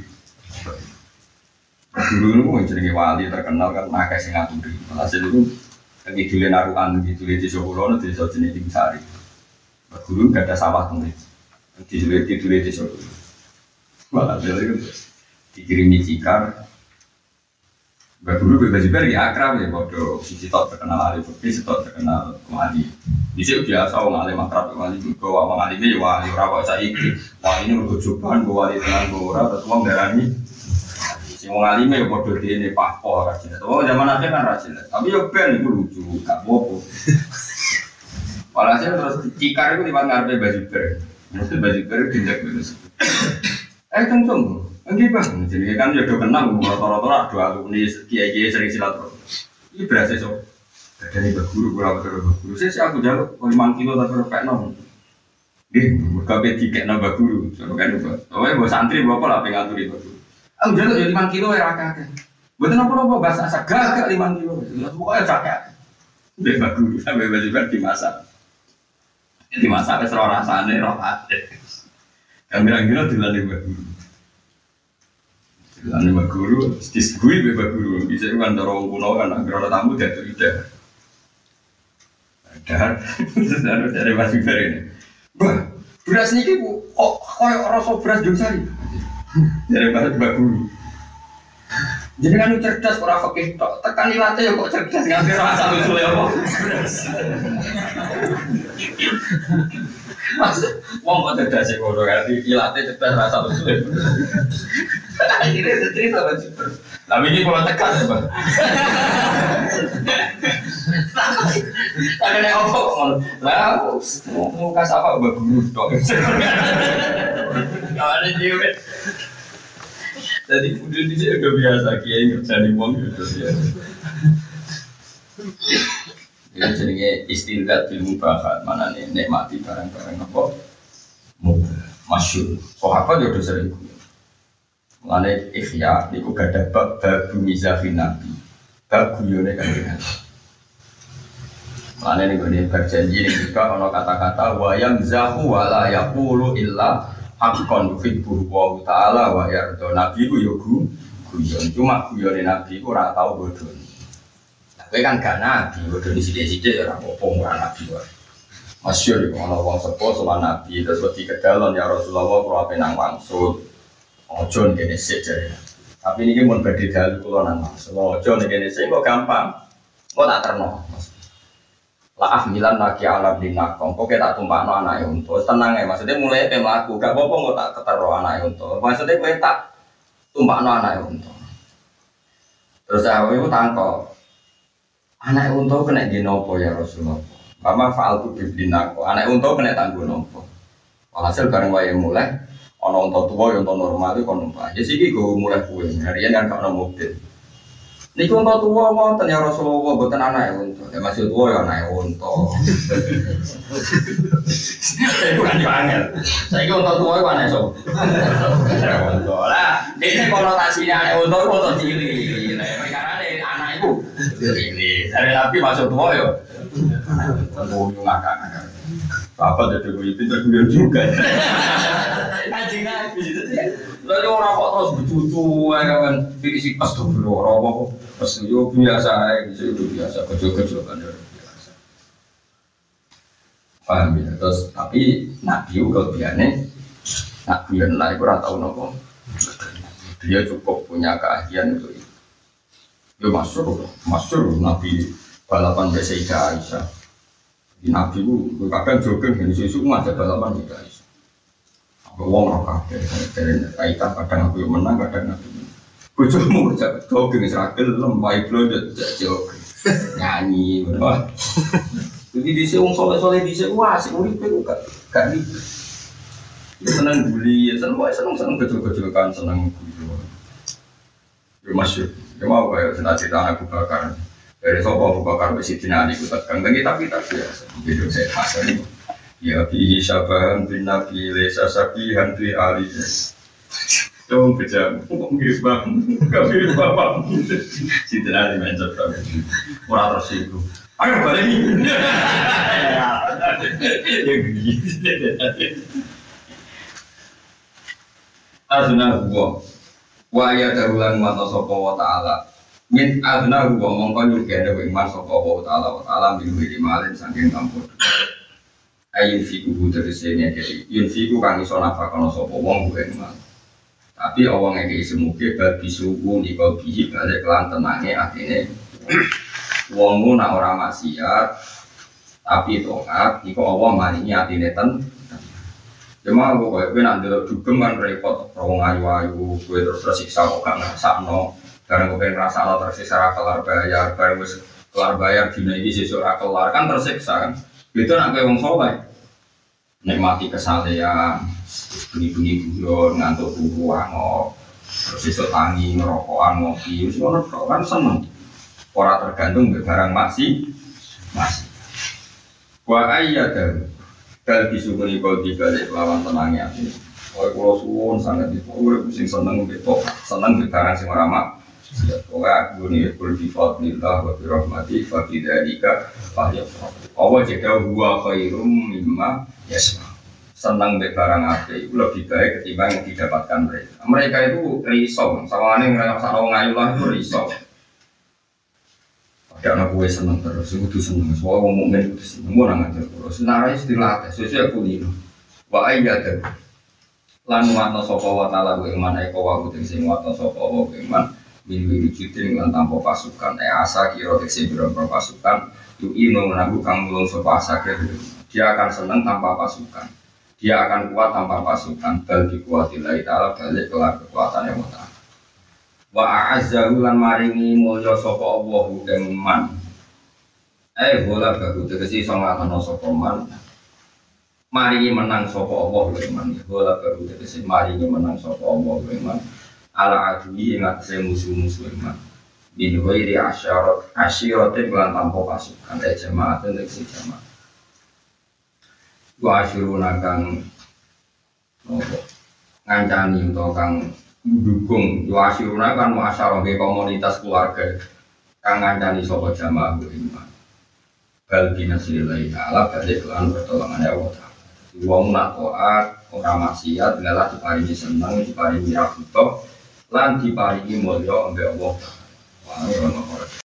Guru itu jadi wali terkenal kan, nah kayak Singapura. Hasil itu lagi jualan naruhan, gitu di Solo, nanti so jenis tinggi sari. Guru gak ada sawah tuh, dijual dijual di Solo. Malah jadi dikirimi cikar. Guru bebas juga ya akrab ya, bodoh. Sisi tak terkenal ahli fikih, sisi tak terkenal wali. Bisa biasa orang alim akrab wali juga, orang alim ya wali orang kok saiki. Wali ini berjujuran, wali dengan orang terus orang darani. Si orang alim ya bodoh dia ini pakpo rajin. Oh zaman akhir kan rajin, tapi ya ben itu lucu, gak bobo. Walhasil terus cikar itu di mana ngarepe baju ber, baju ber tindak beres. Eh tunggu. Enggak bang, jadi kan ya udah kenal, rata-rata dua alumni kiai-kiai sering silaturahmi. Ini berasa so, dari berguru, berapa terus berguru. Saya sih aku jaluk lima kilo tapi berapa nom. Deh, berkabe tiket nambah guru, so kan itu. Oh ya, bawa santri berapa lah pengatur itu. Aku jaluk ya lima kilo ya rakyat. Betul apa apa bahasa asa gagak lima kilo, pokoknya rakyat. Deh berguru sampai baju dimasak, dimasak ke seluruh rasanya rohat. Kira-kira dilalui berguru. Lalu Mbak Guru, disegui Mbak Guru, bisa kan dorong kuno kan, agar tamu jatuh ide. Dan terus ada dari Mas Ibar ini, bah beras ini bu, kok koyok rasa beras Jongsari? Dari Mbak Guru. Jadi kan cerdas orang fakih, tekan ilatnya ya kok cerdas ngambil rasa lucu ya kok beras. Maksud, wong kok cerdas sih kalau ngerti ilatnya cerdas rasa lucu ya. Akhirnya cerita apa sih? Tapi ini kalau tekan ya bang. Ada yang apa kok? Lah, mau kasih apa bagus dong? Kalau ada dia, jadi udah di sini udah biasa kiai ngerjain uang udah biasa. Ini jenenge istilah ilmu bakat mana nih nikmati barang-barang apa? Masyhur. Sahabat ya udah sering. Mulane ikhya niku gadah bab bab mizafin nabi. Bab guyone kanjeng. Mulane niku ne berjanji ning juga ana kata-kata wa yamzahu wa la yaqulu illa haqqan yuhibbu wa ta'ala wa yarda. Nabi ku yo guyon, cuma guyone nabi ku ora tau bodho. Kowe kan gak nabi, bodho sithik-sithik ya ora apa-apa ora nabi wae. Masyhur iku ana wong sepuh sowan nabi terus wedi kedalon ya Rasulullah kula penang wangsul. Ojo nih sik jare. Tapi niki mun badhe dalu kula nang Mas. Ojo nih sik kok gampang. Kok tak terno. Lah ahmilan lagi alam dinak. Kok tak tumpakno anake unta. Tenang ae maksudnya mulai pe mlaku. Gak apa-apa kok tak ketero anake unta. Maksudnya kowe tak tumpakno anake unta. Terus aku iku tangkok. Anake unta kena dino apa ya Rasulullah? Mama fa'altu bidinak. Anake unta kena tanggo napa? Walhasil bareng wae mulai ono unta tua yang unta normal itu kon numpak. Ya siki go mulai kuwe. Harian kan gak ono mobil. Niku unta tua wonten ya Rasulullah mboten anake unta. Ya masih tua ya anake unta. Iku kan yo angel. Saiki unta tua iku anake sapa? Unta. Lah, iki konotasinya anake unta iku unta cilik. Lah perkarane anak iku ini. Dari Nabi masuk tua yo. Tunggu ngakak-ngakak. Apa jadi gue pintar gue juga. Anjing Nabi itu ya. Lalu orang kok terus bercucu ya kan. Fisik pas tuh orang apa pas yo biasa aja itu biasa kecil-kecil kan biasa. Paham ya. Terus tapi Nabi juga biasanya Nabi yang lain kurang tahu nopo. Dia cukup punya keahlian untuk itu. Yo masuk, masuk Nabi balapan Sayyidah Aisyah. Di Nabi itu, kadang jogging dan isu-isu ngajak balapan juga isu. Aku ngomong apa? Dari kaitan kadang aku yang menang, kadang aku menang. Bojomu jak jogging ra gelem wae blondet jak jogging. Nyanyi ngono. Jadi dhisik wong saleh-saleh dhisik wah sik uripe ku gak gak iki. Seneng bully, seneng wae seneng-seneng gejol-gejolkan seneng guyu. Yo masyhur, yo mau kaya cita-cita Abu Bakar. Dari sapa Abu Bakar wis dinani ku tekan tapi tapi ya gitu saya pasal ini. Ya bi syabahan bin nabi lesa sabihan bi ali. Dong kejam, kok mirip bang, gak mirip bapak. Si dinani mencet banget. Ora terus iku. Ayo balik ini. Ya gitu. Azna huwa wa ya darulan mata sapa wa ta'ala min azna huwa mongko nyugene wa iman sapa wa ta'ala wa ta'ala min malin saking kampur ayun fiku terese ngeke yun fiku kang iso nafakono sapa wong kuwi iman tapi wong ngeke semuge bal bisuku nika bihi balik lan tenange atine wong mu nak ora maksiat tapi taat iku Allah maringi atine ten cuma aku kayak gue nanti dugem kan repot, rawong ayu-ayu, gue terus tersiksa kok gak ngerasakno. Karena gue pengen ngerasa lo tersiksa kelar bayar, karena gue kelar bayar dina ini sesuk kelar kan tersiksa kan. Itu nak gue wong soleh, nikmati kesalehan, bunyi-bunyi guyon, ngantuk turu angok, terus sesuk tangi ngerokokan ngopi, semua kan seneng. Orang tergantung barang masih masih. Gua ayat dan kal bisukuni kau dibalik lawan tenangnya ini. Oleh pulau suwon sangat itu, gue pusing seneng betul, seneng sekarang sih meramak. Pokoknya gue nih berdefault nillah wa birahmati fakidadika fahya. Allah jika gua khairum mimma yasma. Seneng bebarang ape, itu lebih baik ketimbang yang didapatkan mereka. Mereka itu risau, sama ane ngerasa orang ngayulah itu risau. Ada anak gue seneng terus, gue tuh seneng. Soalnya ngomong mukmin itu seneng, gue nggak ngajar terus. Senarai istilah tes, sesuai aku lino. Wah iya deh. Lan watno sopo watala gue iman eko wagu tersing watno sopo wagu iman. Minwi wujudin lan tanpa pasukan. Eh asa kiro tersing berapa pasukan. Yu ino menabu kang mulung sopo asa kiro. Dia akan seneng tanpa pasukan. Dia akan kuat tanpa pasukan. Bal dikuatillahi ta'ala balik kelar kekuatannya wata. Wa a'azzahu lan maringi mulya sapa Allah ing man. Eh bola bagus tegese iso nglakono sapa man. Maringi menang sapa Allah ing man. Bola bagus tegese maringi menang sapa Allah ing man. Ala adwi ing atase musuh-musuh ing man. Bin ghairi asyarat asyiratin lan tanpa pasukan eh jamaah tegese jamaah. Wa asyiruna kang nopo ngancani utawa kang mendukung yuasiruna kan muasyarah ke komunitas keluarga kang ngancani sapa jamaah iman bal binasrillahi ta'ala balik lan pertolongan Allah ta'ala wong nak taat ora maksiat ngalah diparingi seneng diparingi rahmat lan diparingi mulya ambek Allah ta'ala.